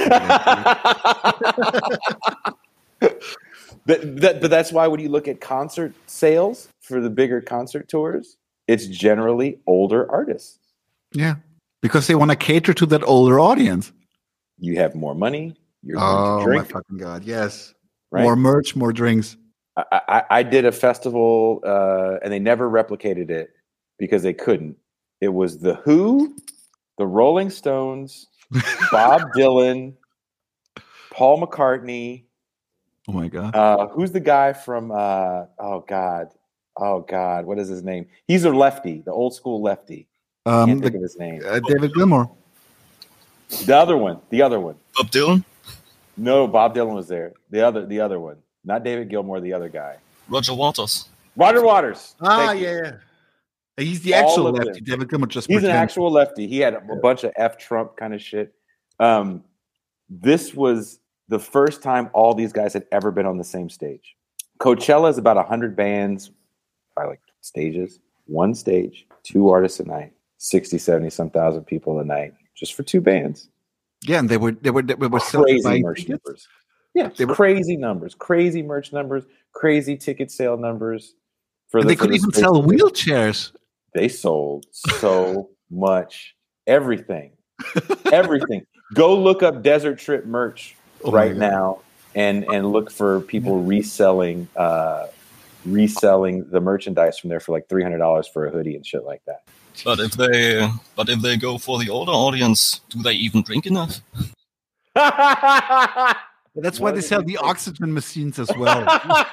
but, that, but that's why when you look at concert sales for the bigger concert tours, it's generally older artists. Yeah, because they want to cater to that older audience. You have more money. You're oh to drink. My fucking god! Yes, right? More merch, more drinks. I, I, I did a festival, uh, and they never replicated it because they couldn't. It was The Who, the Rolling Stones, Bob Dylan, Paul McCartney. Oh my god! Uh, who's the guy from? Uh, oh god! Oh god! What is his name? He's a lefty, the old school lefty. I Um, can't the, think of his name. Uh, David Gilmour. The other one. The other one. Bob Dylan? No, Bob Dylan was there. The other. The other one. Not David Gilmour. The other guy. Roger Waters. Roger Waters. Ah, yeah, yeah. He's the actual lefty. Them. David Gilmour just He's pretends. an actual lefty. He had a, a bunch of F Trump kind of shit. Um, this was the first time all these guys had ever been on the same stage. Coachella is about one hundred bands, by like stages. One stage, two artists a night, sixty, seventy some thousand people a night, just for two bands. Yeah, and they were they were they were crazy merch numbers. Yeah, they were crazy numbers, crazy merch numbers, crazy ticket sale numbers. For the, they could even sell wheelchairs they sold so much everything. Everything. Go look up Desert Trip merch oh right now and and look for people reselling uh, reselling the merchandise from there for like three hundred dollars for a hoodie and shit like that. But if they but if they go for the older audience, do they even drink enough? That's why they sell the oxygen machines as well.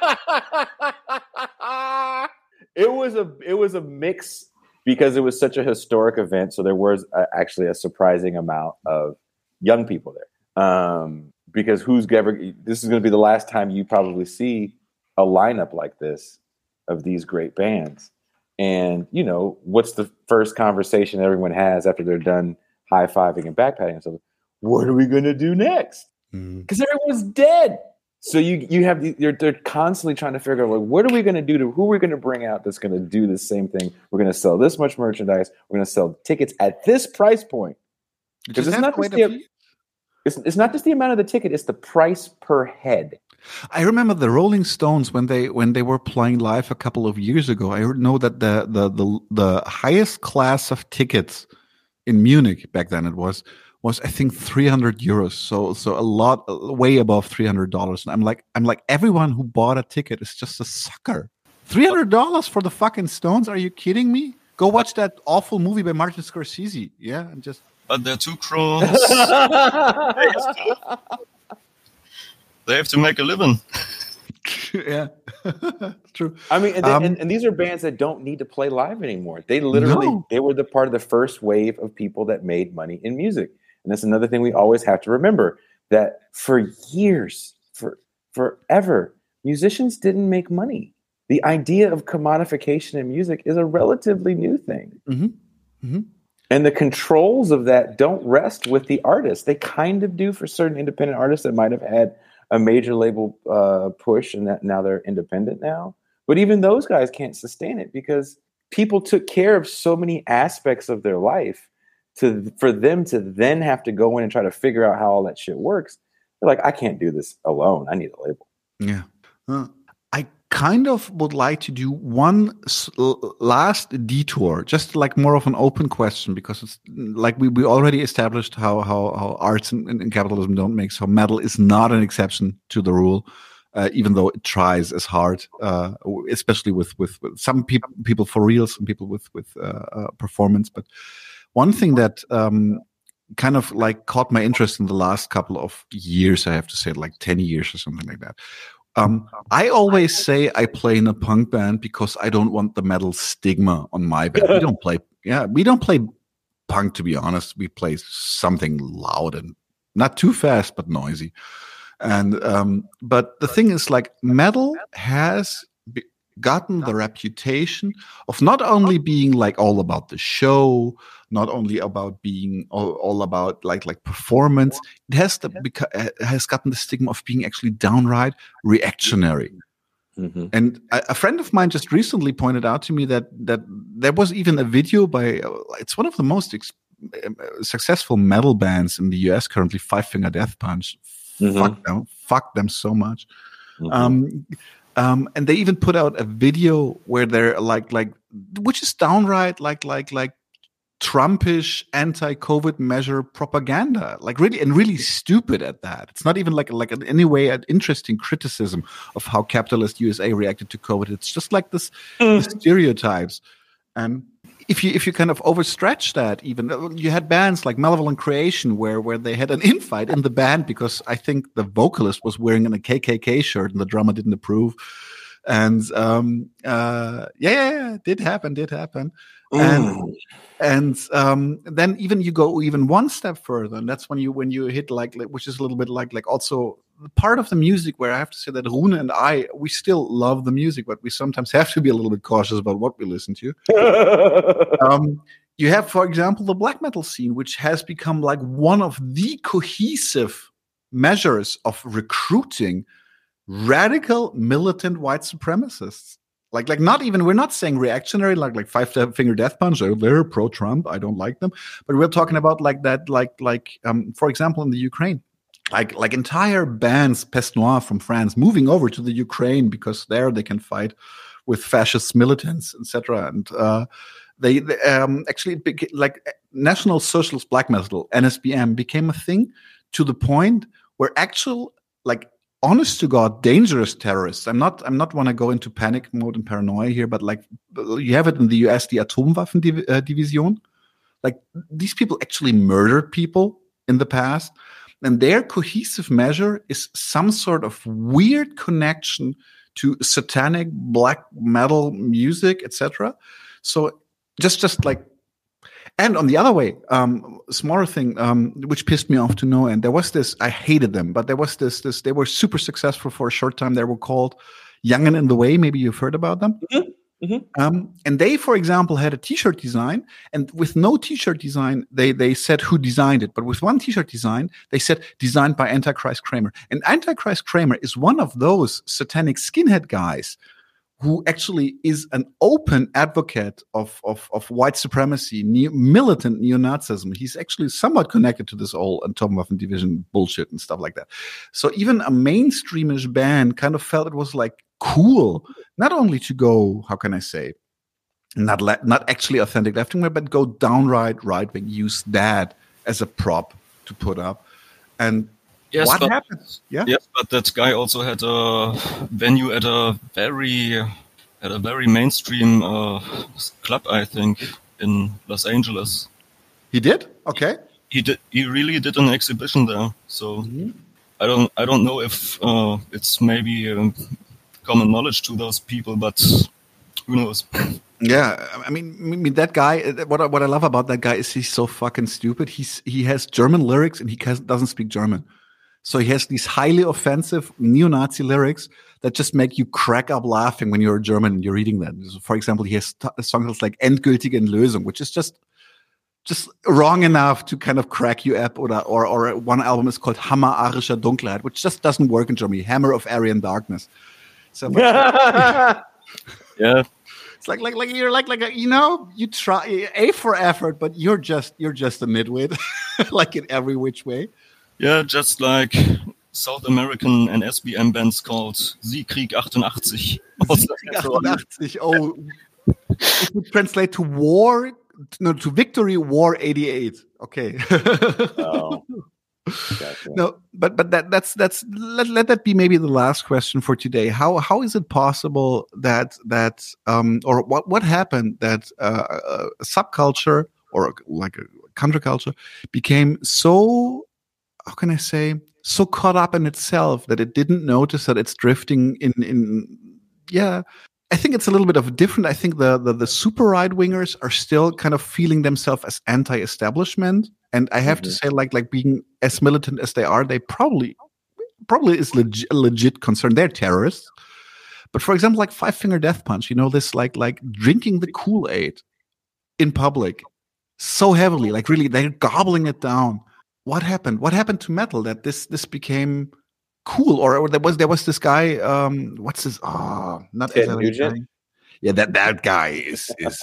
It was a it was a mix because it was such a historic event. So there was a, actually a surprising amount of young people there. Um, because who's ever this is going to be the last time you probably see a lineup like this of these great bands. And you know what's the first conversation everyone has after they're done high fiving and backpatting? So, what are we going to do next? Because everyone's dead. So you you have the, they're they're constantly trying to figure out like what are we going to do to who are we going to bring out that's going to do the same thing. We're going to sell this much merchandise. We're going to sell tickets at this price point because it's not just the, it's, it's not just the amount of the ticket. It's the price per head. I remember the Rolling Stones when they when they were playing live a couple of years ago. I know that the the the, the highest class of tickets in Munich back then it was. was I think three hundred euros, so so a lot, way above three hundred dollars. And I'm like, I'm like, everyone who bought a ticket is just a sucker. Three hundred dollars for the fucking Stones? Are you kidding me? Go watch that awful movie by Martin Scorsese. Yeah, and just. But they're too close. They have to make a living. Yeah, true. I mean, and, they, um, and, and these are bands that don't need to play live anymore. They literally, no. they were the part of the first wave of people that made money in music. And that's another thing we always have to remember, that for years, for forever, musicians didn't make money. The idea of commodification in music is a relatively new thing. Mm-hmm. Mm-hmm. And the controls of that don't rest with the artist. They kind of do for certain independent artists that might have had a major label uh, push and that now they're independent now. But even those guys can't sustain it because people took care of so many aspects of their life to for them to then have to go in and try to figure out how all that shit works. They're like, I can't do this alone. I need a label. Yeah. Uh, I kind of would like to do one s- last detour, just like more of an open question, because it's like we, we already established how how, how arts and, and capitalism don't make. So metal is not an exception to the rule, uh, even though it tries as hard, uh, especially with, with, with some people people for real, some people with with uh, uh, performance. But one thing that um, kind of like caught my interest in the last couple of years, I have to say, like ten years or something like that. Um, I always say I play in a punk band because I don't want the metal stigma on my band. We don't play, yeah, we don't play punk, to be honest. We play something loud and not too fast, but noisy. And, um, but the thing is, like, metal has be- gotten the reputation of not only being like all about the show, not only about being all, all about like like performance. It has the beca- has gotten the stigma of being actually downright reactionary. Mm-hmm. And a, a friend of mine just recently pointed out to me that that there was even a video by uh, it's one of the most ex- uh, successful metal bands in the U S currently, Five Finger Death Punch. Mm-hmm. Fuck them, fuck them so much. Mm-hmm. Um, Um, and they even put out a video where they're like, like, which is downright like, like, like Trumpish anti-COVID measure propaganda, like really, and really stupid at that. It's not even like, like in any way an interesting criticism of how capitalist U S A reacted to COVID. It's just like this mm. stereotypes. And if you, if you kind of overstretch that, even you had bands like Malevolent Creation where, where they had an infight in the band because I think the vocalist was wearing a K K K shirt and the drummer didn't approve. And, um, uh, yeah, yeah, yeah, it did happen, did happen. Mm. And, and, um, then even you go even one step further, and that's when you, when you hit like, which is a little bit like, like also part of the music where I have to say that Rune and I, we still love the music, but we sometimes have to be a little bit cautious about what we listen to. um, you have, for example, the black metal scene, which has become like one of the cohesive measures of recruiting radical militant white supremacists. Like, like not even, we're not saying reactionary, like, like Five Finger Death Punch, oh, they're pro-Trump, I don't like them. But we're talking about like that, like, like, um, for example, in the Ukraine, like, like entire bands, Peste Noire from France, moving over to the Ukraine because there they can fight with fascist militants, et cetera. And, uh, They, they um, actually it became, like National Socialist Black Metal (N S B M) became a thing to the point where actual like honest to God dangerous terrorists. I'm not I'm not want to go into panic mode and paranoia here, but like you have it in the U S, the Atomwaffendivision. Like these people actually murdered people in the past, and their cohesive measure is some sort of weird connection to satanic black metal music, et cetera. So just just like, and on the other way, um, smaller thing, um, which pissed me off to no end. There was this, I hated them, but there was this this. They were super successful for a short time. They were called Young and in the Way. Maybe you've heard about them. Mm-hmm. Mm-hmm. Um, and they, for example, had a T-shirt design, and with no T-shirt design, they they said who designed it. But with one T-shirt design, they said designed by Antichrist Kramer. And Antichrist Kramer is one of those satanic skinhead guys who actually is an open advocate of of, of white supremacy, neo, militant neo-Nazism. He's actually somewhat connected to this old Atomwaffendivision bullshit and stuff like that. So even a mainstreamish band kind of felt it was like cool, not only to go, how can I say, not le- not actually authentic left wing, but go downright right wing, use that as a prop to put up. And yes, what but, happened? Yeah, yes, but that guy also had a venue at a very at a very mainstream uh, club, I think, in Los Angeles. He did? Okay. He did. He really did an exhibition there. So mm-hmm. I don't. I don't know if uh, it's maybe. Um, common knowledge to those people, but who knows? Yeah, I mean, I mean that guy. What I, what I love about that guy is he's so fucking stupid. He's he has German lyrics and he has, doesn't speak German, so he has these highly offensive neo-Nazi lyrics that just make you crack up laughing when you're a German and you're reading that. So for example, he has t- songs like "Endgültige Entlösung," which is just just wrong enough to kind of crack you up. Or or, or one album is called "Hammer arischer Dunkelheit," which just doesn't work in Germany. Hammer of Aryan Darkness. So, yeah, it's like like like you're like like a, you know you try A for effort, but you're just you're just a nitwit, like in every which way. Yeah, just like South American N S B M bands called Siegkrieg eighty-eight. eighty-eight. Oh, it would translate to war, no, to victory, war eighty-eight. Okay. Oh. Gotcha. No, but but that that's that's let, let that be maybe the last question for today. How how is it possible that that um or what what happened that uh, a subculture or like a counterculture became so, how can I say, so caught up in itself that it didn't notice that it's drifting in in yeah. I think it's a little bit of a different. I think the, the, the super right wingers are still kind of feeling themselves as anti-establishment, and I have mm-hmm. to say, like like being as militant as they are, they probably probably is leg- a legit concern. They're terrorists, but for example, like Five Finger Death Punch, you know, this like like drinking the Kool-Aid in public so heavily, like really they're gobbling it down. What happened? What happened to metal that this this became cool? Or, or there was there was this guy. Um, what's his? Oh, not Ted Nugent. Yeah, that that guy is is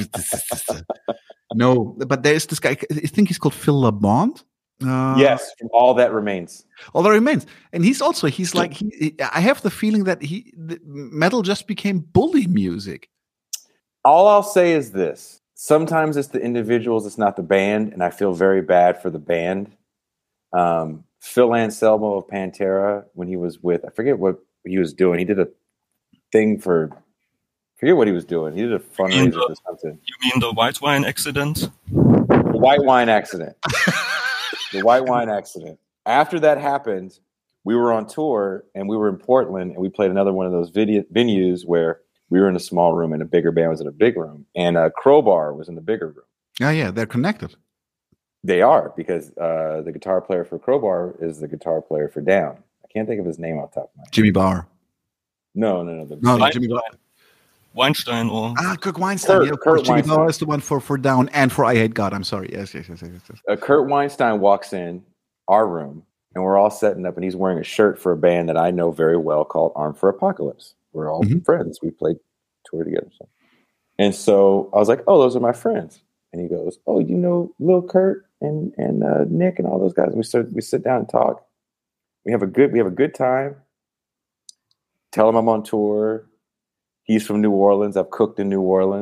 no, but there's this guy. I think he's called Phil LeBond. Uh, yes, from All That Remains. All That Remains, and he's also he's like he. he I have the feeling that he the metal just became bully music. All I'll say is this: sometimes it's the individuals, it's not the band, and I feel very bad for the band. Um, Phil Anselmo of Pantera, when he was with, I forget what he was doing. He did a thing for, I forget what he was doing. He did a fundraiser or something. You mean the white wine accident? The white wine accident. The white wine accident. After that happened, we were on tour and we were in Portland and we played another one of those video, venues where we were in a small room and a bigger band was in a big room. And uh, Crowbar was in the bigger room. Oh, yeah, they're connected. They are, because uh, the guitar player for Crowbar is the guitar player for Down. I can't think of his name off the top of my head. Jimmy Barr. No, no, no. The no, no Jimmy Barr. Weinstein or ah, Kirk Weinstein. Kurt, yeah, of Kurt course, Jimmy Weinstein. Barr is the one for, for Down and for I Hate God. I'm sorry. Yes, yes, yes, yes. yes. Uh, Kurt Weinstein walks in our room, and we're all setting up, and he's wearing a shirt for a band that I know very well called Armed for Apocalypse. We're all mm-hmm. friends. We played tour together. So. And so I was like, oh, those are my friends. And he goes, oh, you know Lil Kurt and and uh, Nick and all those guys. And we sit we sit down and talk. We have a good we have a good time. Tell him I'm on tour. He's from New Orleans. I've cooked in New Orleans.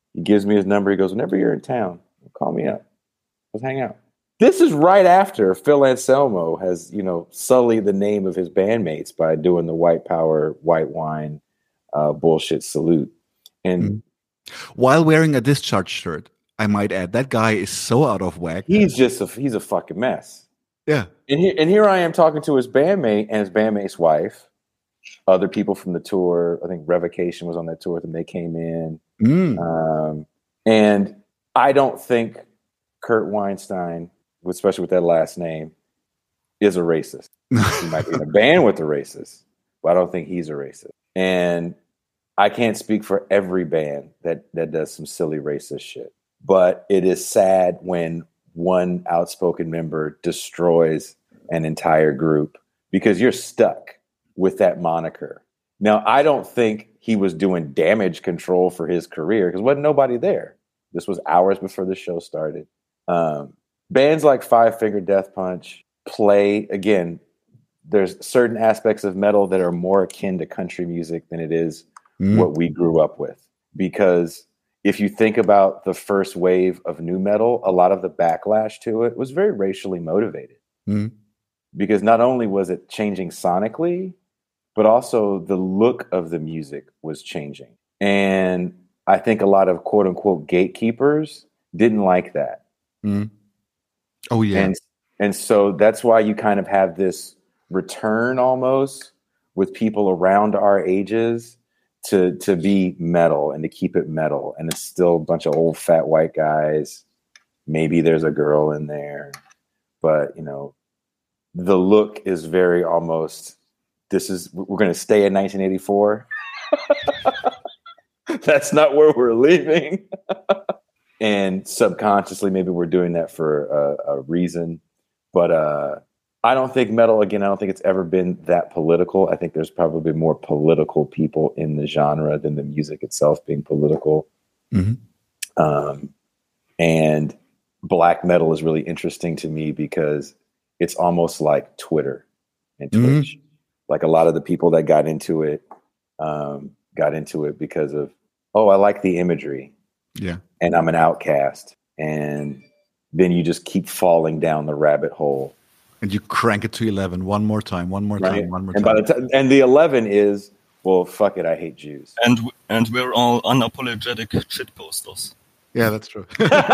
He gives me his number. He goes, whenever you're in town, call me up. Let's hang out. This is right after Phil Anselmo has, you know, sullied the name of his bandmates by doing the white power, white wine uh, bullshit salute. And mm. while wearing a Discharge shirt, I might add, that guy is so out of whack. He's just a, he's a fucking mess. Yeah. And here, and here I am talking to his bandmate and his bandmate's wife, other people from the tour. I think Revocation was on that tour with them. They came in. Mm. Um, and I don't think Kurt Weinstein, especially with that last name, is a racist. He might be in a band with a racist, but I don't think he's a racist. And I can't speak for every band that, that does some silly racist shit. But it is sad when one outspoken member destroys an entire group because you're stuck with that moniker. Now, I don't think he was doing damage control for his career because wasn't nobody there. This was hours before the show started. Um, bands like Five Finger Death Punch play, again, there's certain aspects of metal that are more akin to country music than it is mm. what we grew up with. Because if you think about the first wave of nu metal, a lot of the backlash to it was very racially motivated. Mm. Because not only was it changing sonically, but also the look of the music was changing. And I think a lot of quote unquote gatekeepers didn't like that. Mm. Oh, yeah. And, and so that's why you kind of have this return almost with people around our ages to, to be metal and to keep it metal. And it's still a bunch of old fat white guys. Maybe there's a girl in there, but you know, the look is very almost, this is, we're going to stay in nineteen eighty-four. That's not where we're leaving. And subconsciously, maybe we're doing that for a, a reason. But uh, I don't think metal, again, I don't think it's ever been that political. I think there's probably more political people in the genre than the music itself being political. Mm-hmm. Um, and black metal is really interesting to me because it's almost like Twitter and Twitch. Mm-hmm. Like a lot of the people that got into it, um, got into it because of, oh, I like the imagery. Yeah. And I'm an outcast. And then you just keep falling down the rabbit hole. And you crank it to eleven one more time, one more right? time, one more and time. By the t- and the eleven is, well, fuck it, I hate Jews. And and we're all unapologetic shit posters. Yeah, that's true.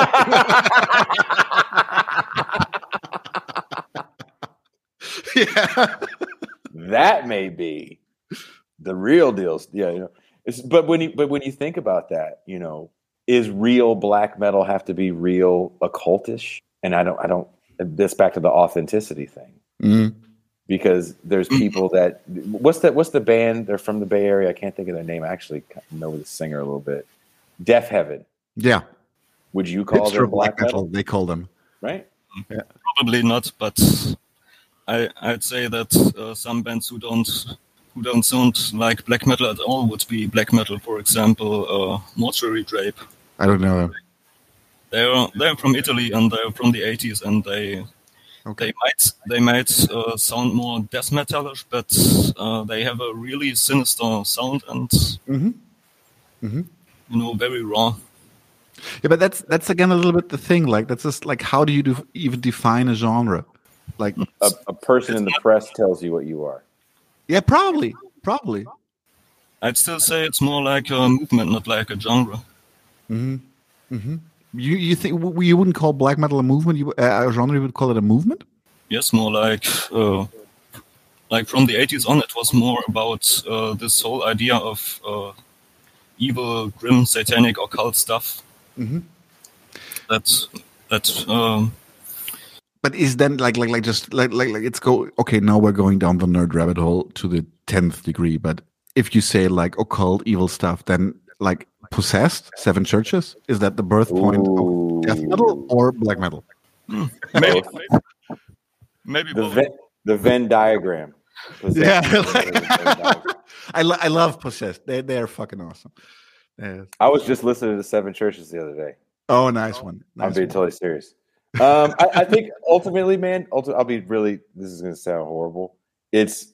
Yeah. That may be the real deal. Yeah, you know. It's, but when you but when you think about that, you know, is real black metal have to be real occultish? And I don't I don't this back to the authenticity thing. Mm-hmm. Because there's people that what's that what's the band? They're from the Bay Area. I can't think of their name. I actually know the singer a little bit. Deaf Heaven. Yeah. Would you call them black, black metal? metal? They call them. Right? Yeah. Probably not, but I I'd say that uh, some bands who don't who don't sound like black metal at all would be black metal. For example, uh, Mortuary Drape. I don't know them. They're they're from Italy and they're from the eighties and they okay. they might they might uh, sound more death metalish, but uh, they have a really sinister sound and mm-hmm. Mm-hmm. you know, very raw. Yeah, but that's that's again a little bit the thing. Like that's just like, how do you do, even define a genre? Like a, a person in the press tells you what you are. Yeah, probably, probably. I'd still say it's more like a movement, not like a genre. Mm-hmm. Mm-hmm. You you think you wouldn't call black metal a movement? You uh, a genre? You would call it a movement? Yes, more like uh, like from the eighties on. It was more about uh, this whole idea of uh, evil, grim, satanic, occult stuff. Mm-hmm. That's that's. Um, but is then like like like just like like like it's go okay? Now we're going down the nerd rabbit hole to the tenth degree. But if you say like occult, evil stuff, then like Possessed, Seven Churches, is that the birth point Ooh. of death metal or black metal? Hmm. Maybe, maybe, maybe the Venn, the Venn diagram. Possessed. Yeah, I lo- I love Possessed. They they are fucking awesome. Yeah. I was just listening to Seven Churches the other day. Oh, nice one. Nice I'm being one. totally serious. Um, I, I think ultimately, man, ulti- I'll be really. This is going to sound horrible. It's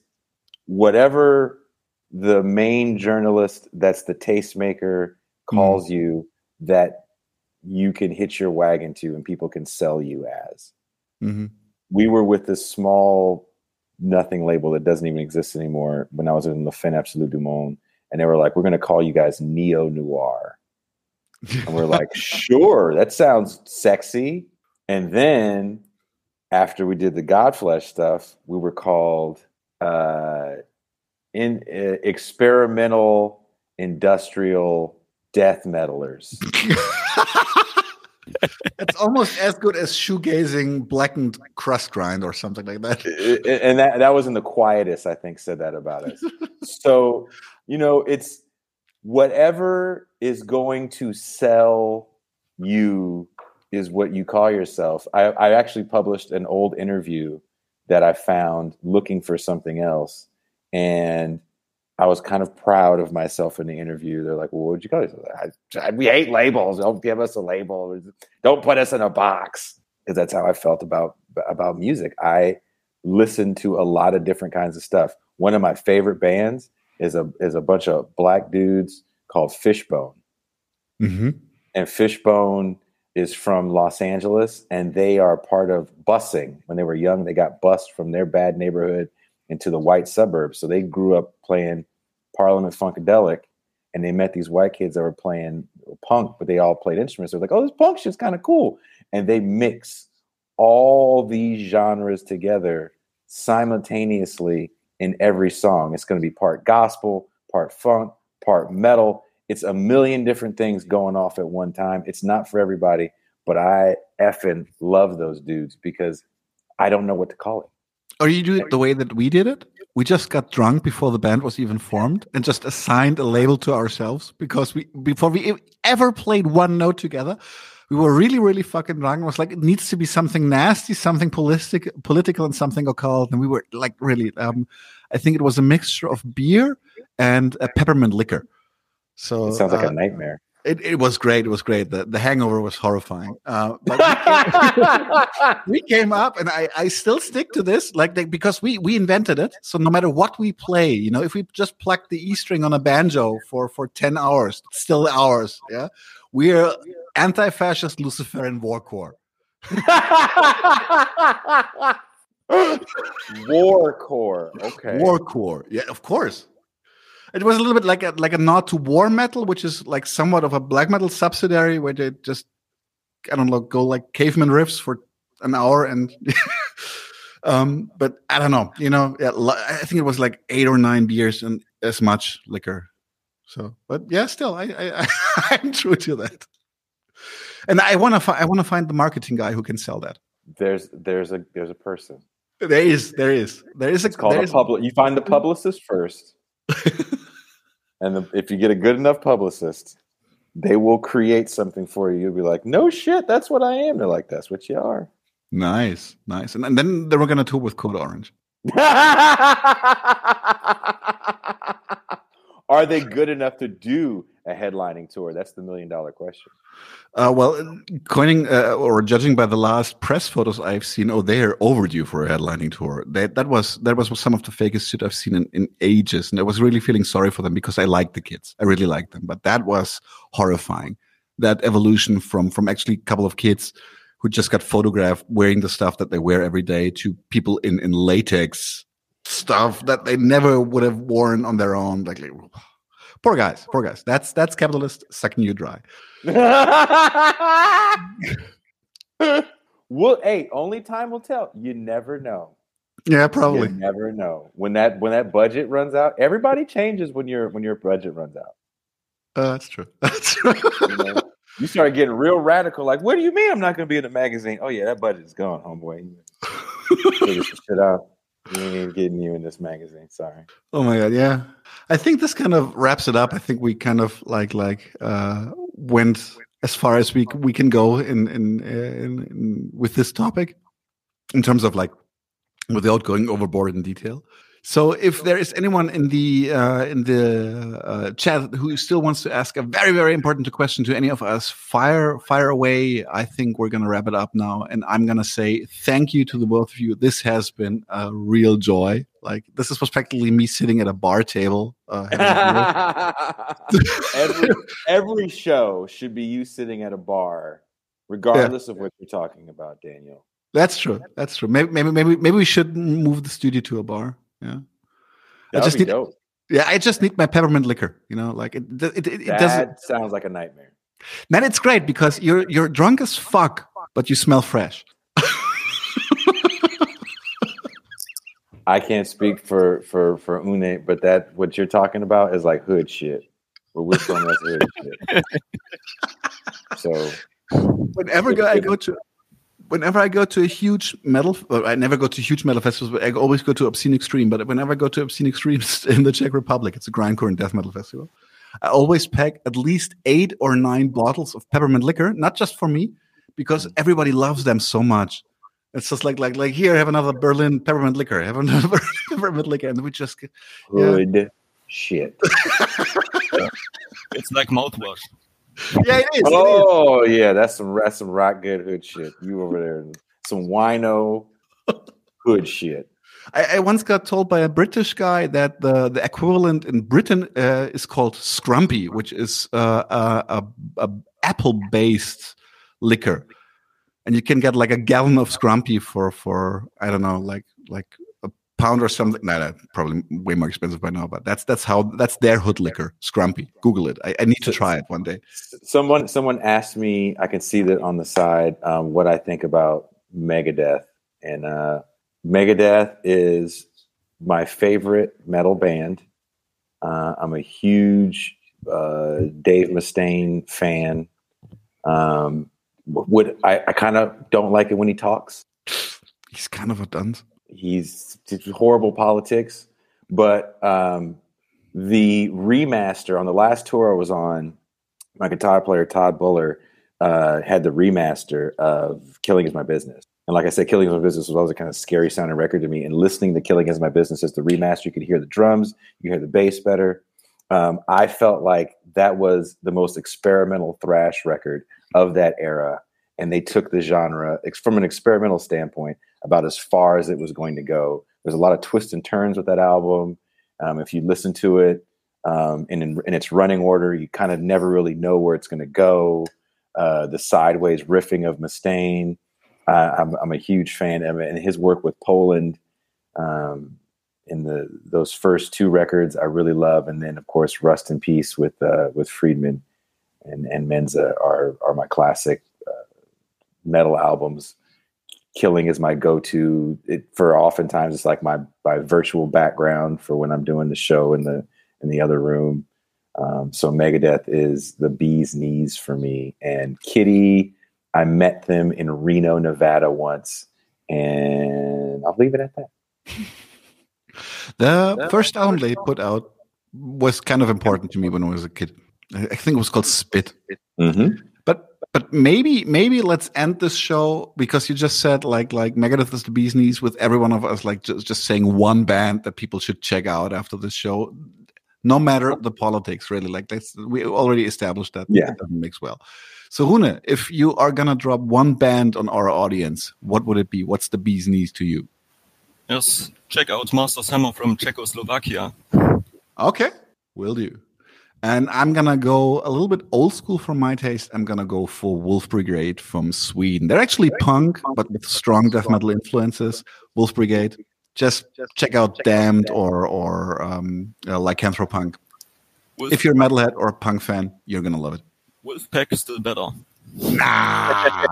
whatever the main journalist that's the tastemaker calls mm. you that you can hitch your wagon to and people can sell you as. Mm-hmm. We were with this small nothing label that doesn't even exist anymore when I was in La Fin Absolue du Monde. And they were like, we're going to call you guys neo-noir. And we're like, sure, that sounds sexy. And then after we did the Godflesh stuff, we were called uh, in uh, experimental industrial death metalers. It's almost as good as shoegazing blackened crust grind or something like that. And that that was in the quietest, I think, said that about us. So, you know, it's whatever is going to sell you is what you call yourself. I, I actually published an old interview that I found looking for something else. And I was kind of proud of myself in the interview. They're like, well, what would you call yourself? I, I, we hate labels. Don't give us a label. Don't put us in a box. Because that's how I felt about, about music. I listened to a lot of different kinds of stuff. One of my favorite bands is a is a bunch of black dudes called Fishbone. Mm-hmm. And Fishbone is from Los Angeles, and they are part of busing. When they were young, they got bused from their bad neighborhood into the white suburbs. So they grew up playing Parliament Funkadelic, and they met these white kids that were playing punk, but they all played instruments. They're like, oh, this punk shit's kind of cool. And they mix all these genres together simultaneously in every song. It's going to be part gospel, part funk, part metal. It's a million different things going off at one time. It's not for everybody, but I effing love those dudes because I don't know what to call it. Or you do it the way that we did it? We just got drunk before the band was even formed and just assigned a label to ourselves because we before we ever played one note together, we were really, really fucking drunk. It was like, it needs to be something nasty, something politic, political and something occult. And we were like really, um, I think it was a mixture of beer and a peppermint liquor. So it sounds like uh, a nightmare. It, it was great. It was great. The, the hangover was horrifying. Uh, but we, came, we came up, and I, I still stick to this, like they, because we we invented it. So no matter what we play, you know, if we just pluck the E string on a banjo for for ten hours, it's still ours. Yeah, we're anti-fascist Luciferian warcore. Warcore. Okay. Warcore. Yeah, of course. It was a little bit like a like a nod to war metal, which is like somewhat of a black metal subsidiary where they just, I don't know, go like caveman riffs for an hour and um but I don't know, you know, yeah, I think it was like eight or nine beers and as much liquor. So, but yeah, still I I I'm true to that. And I want to fi- I want to find the marketing guy who can sell that. There's there's a there's a person. There is there is there is a it's called a public. You find the publicist first. And the, if you get a good enough publicist, they will create something for you. You'll be like, no shit, that's what I am. They're like, that's what you are. Nice, nice. And, and then they were going to tour with Code Orange. Are they good enough to do a headlining tour? That's the million dollar question. Uh, well, coining uh, or judging by the last press photos I've seen, oh, they are overdue for a headlining tour. That that was that was some of the fakest shit I've seen in, in ages, and I was really feeling sorry for them because I liked the kids, I really liked them, but that was horrifying. That evolution from from actually a couple of kids who just got photographed wearing the stuff that they wear every day to people in in latex stuff that they never would have worn on their own. Like, like poor guys, poor guys. That's that's capitalist sucking you dry. Well, hey, only time will tell. You never know. Yeah, probably. You never know. When that when that budget runs out, everybody changes when your when your budget runs out. Uh, that's true. That's true. You know, you start getting real radical. Like, what do you mean I'm not going to be in the magazine? Oh yeah, that budget's gone, homeboy. Figure some shit out. We ain't getting you in this magazine. Sorry. Oh my god, yeah. I think this kind of wraps it up. I think we kind of like like uh, went as far as we we can go in in, in in with this topic in terms of like without going overboard in detail. So if there is anyone in the uh, in the uh, chat who still wants to ask a very, very important question to any of us, fire fire away. I think we're going to wrap it up now. And I'm going to say thank you to the both of you. This has been a real joy. Like this is practically me sitting at a bar table. Uh, every every show should be you sitting at a bar, regardless yeah. of what you're talking about, Daniel. That's true. That's true. Maybe maybe maybe maybe we should move the studio to a bar. Yeah. That I just would be need, dope. Yeah, I just need my peppermint liquor. You know, like it. It, it, it that doesn't. sounds like a nightmare. Man, it's great because you're you're drunk as fuck, but you smell fresh. I can't speak for for for Une, but that what you're talking about is like hood shit. Where we're from, that's hood shit. So, whenever I go to. Whenever I go to a huge metal, well, I never go to huge metal festivals, but I always go to Obscene Extreme. But whenever I go to Obscene Extremes in the Czech Republic, it's a grindcore and death metal festival. I always pack at least eight or nine bottles of peppermint liquor, not just for me, because everybody loves them so much. It's just like, like, like here, have another Berlin peppermint liquor, have another peppermint liquor, and we just get yeah. good shit. It's like mouthwash. Yeah, it is. Oh it is. yeah, that's some that's some rock good hood shit. You over there, some wino hood shit. I, I once got told by a British guy that the, the equivalent in Britain uh, is called Scrumpy, which is uh, a, a, a apple based liquor, and you can get like a gallon of Scrumpy for for I don't know, like like a pound or something. No, nah, probably way more expensive by now, but that's that's how that's their hood liquor, Scrumpy. Google it. I, I need to try it one day. Someone someone asked me, I can see that on the side, um, what I think about Megadeth, and uh, Megadeth is my favorite metal band. Uh, I'm a huge uh, Dave Mustaine fan. Um, would I, I kind of don't like it when he talks. He's kind of a dunce. He's horrible politics, but um, the remaster on the last tour I was on, my guitar player Todd Buller uh, had the remaster of "Killing Is My Business," and like I said, "Killing Is My Business" was always a kind of scary sounding record to me. And listening to "Killing Is My Business" as the remaster, you could hear the drums, you hear the bass better. Um, I felt like that was the most experimental thrash record of that era, and they took the genre from an experimental standpoint about as far as it was going to go. There's a lot of twists and turns with that album. Um, if you listen to it um, in, in its running order, you kind of never really know where it's going to go. Uh, the sideways riffing of Mustaine, uh, I'm, I'm a huge fan of it, and his work with Poland um, in the those first two records I really love, and then of course Rust in Peace with uh, with Friedman and and Menza are are my classic uh, metal albums. Killing is my go-to. It, for oftentimes it's like my my virtual background for when I'm doing the show in the in the other room. Um, so Megadeth is the bee's knees for me. And Kitty, I met them in Reno, Nevada once, and I'll leave it at that. The first album they put out was kind of important to me when I was a kid. I think it was called Spit. Mm-hmm. But but maybe maybe let's end this show because you just said like like Megadeth is the bee's knees with every one of us like just, just saying one band that people should check out after this show, no matter the politics really. Like that's we already established that. Yeah, it doesn't mix well. So Rune, if you are gonna drop one band on our audience, what would it be? What's the bee's knees to you? Yes, check out Master's Hammer from Czechoslovakia. Okay, will do. And I'm going to go a little bit old school for my taste. I'm going to go for Wolf Brigade from Sweden. They're actually punk, but with strong death metal influences. Wolf Brigade. Just check out Damned or or um, uh, Lycanthropunk. Wolf. If you're a metalhead or a punk fan, you're going to love it. Wolfpack is still better. Nah.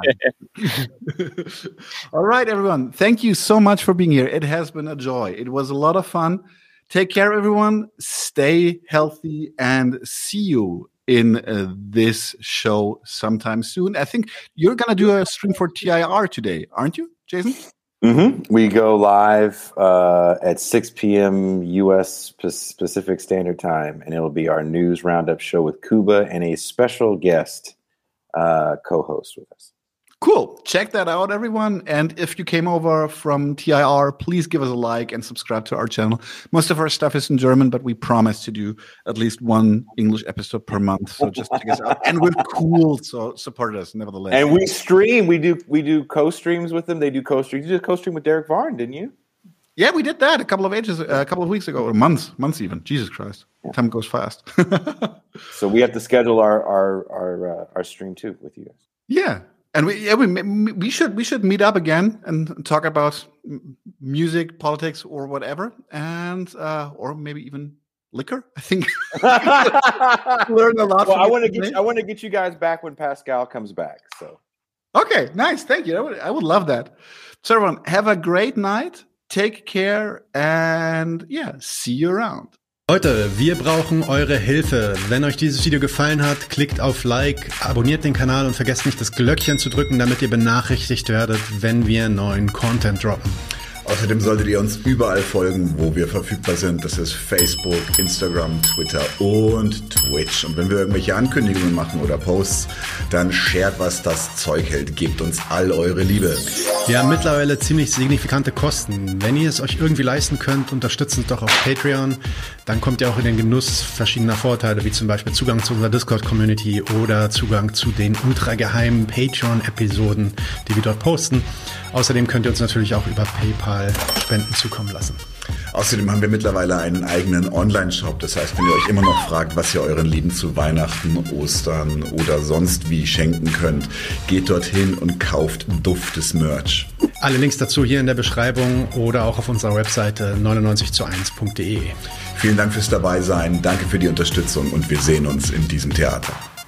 All right, everyone. Thank you so much for being here. It has been a joy. It was a lot of fun. Take care, everyone. Stay healthy and see you in uh, this show sometime soon. I think you're going to do a stream for T I R today, aren't you, Jason? Mm-hmm. We go live uh, at six p.m. U S Pacific Standard Time, and it'll be our news roundup show with Kuba and a special guest uh, co-host with us. Cool. Check that out, everyone. And if you came over from T I R, please give us a like and subscribe to our channel. Most of our stuff is in German, but we promise to do at least one English episode per month. So just check us out. And we're cool, so support us nevertheless. And we stream. We do we do co-streams with them. They do co-streams. You did a co-stream with Derek Varn, didn't you? Yeah, we did that a couple of ages, uh, a couple of weeks ago, or months, months even. Jesus Christ, yeah. Time goes fast. So we have to schedule our our our uh, our stream too with you guys. Yeah, and we yeah we we should we should meet up again and talk about music, politics, or whatever, and uh, or maybe even liquor. I think learn a lot. Well, I want to get you, I want to get you guys back when Pascal comes back. So okay, nice, thank you. I would, I would love that. So everyone, have a great night. Take care and yeah, see you around. Leute, wir brauchen eure Hilfe. Wenn euch dieses Video gefallen hat, klickt auf Like, abonniert den Kanal und vergesst nicht das Glöckchen zu drücken, damit ihr benachrichtigt werdet, wenn wir neuen Content droppen. Außerdem solltet ihr uns überall folgen, wo wir verfügbar sind. Das ist Facebook, Instagram, Twitter und Twitch. Und wenn wir irgendwelche Ankündigungen machen oder Posts, dann shared, was das Zeug hält. Gebt uns all eure Liebe. Wir haben mittlerweile ziemlich signifikante Kosten. Wenn ihr es euch irgendwie leisten könnt, unterstützt uns doch auf Patreon. Dann kommt ihr auch in den Genuss verschiedener Vorteile, wie zum Beispiel Zugang zu unserer Discord-Community oder Zugang zu den ultrageheimen Patreon-Episoden, die wir dort posten. Außerdem könnt ihr uns natürlich auch über PayPal Spenden zukommen lassen. Außerdem haben wir mittlerweile einen eigenen Online-Shop. Das heißt, wenn ihr euch immer noch fragt, was ihr euren Lieben zu Weihnachten, Ostern oder sonst wie schenken könnt, geht dorthin und kauft duftes Merch. Alle Links dazu hier in der Beschreibung oder auch auf unserer Webseite neunundneunzig zu eins punkt de. Vielen Dank fürs Dabeisein, danke für die Unterstützung und wir sehen uns in diesem Theater.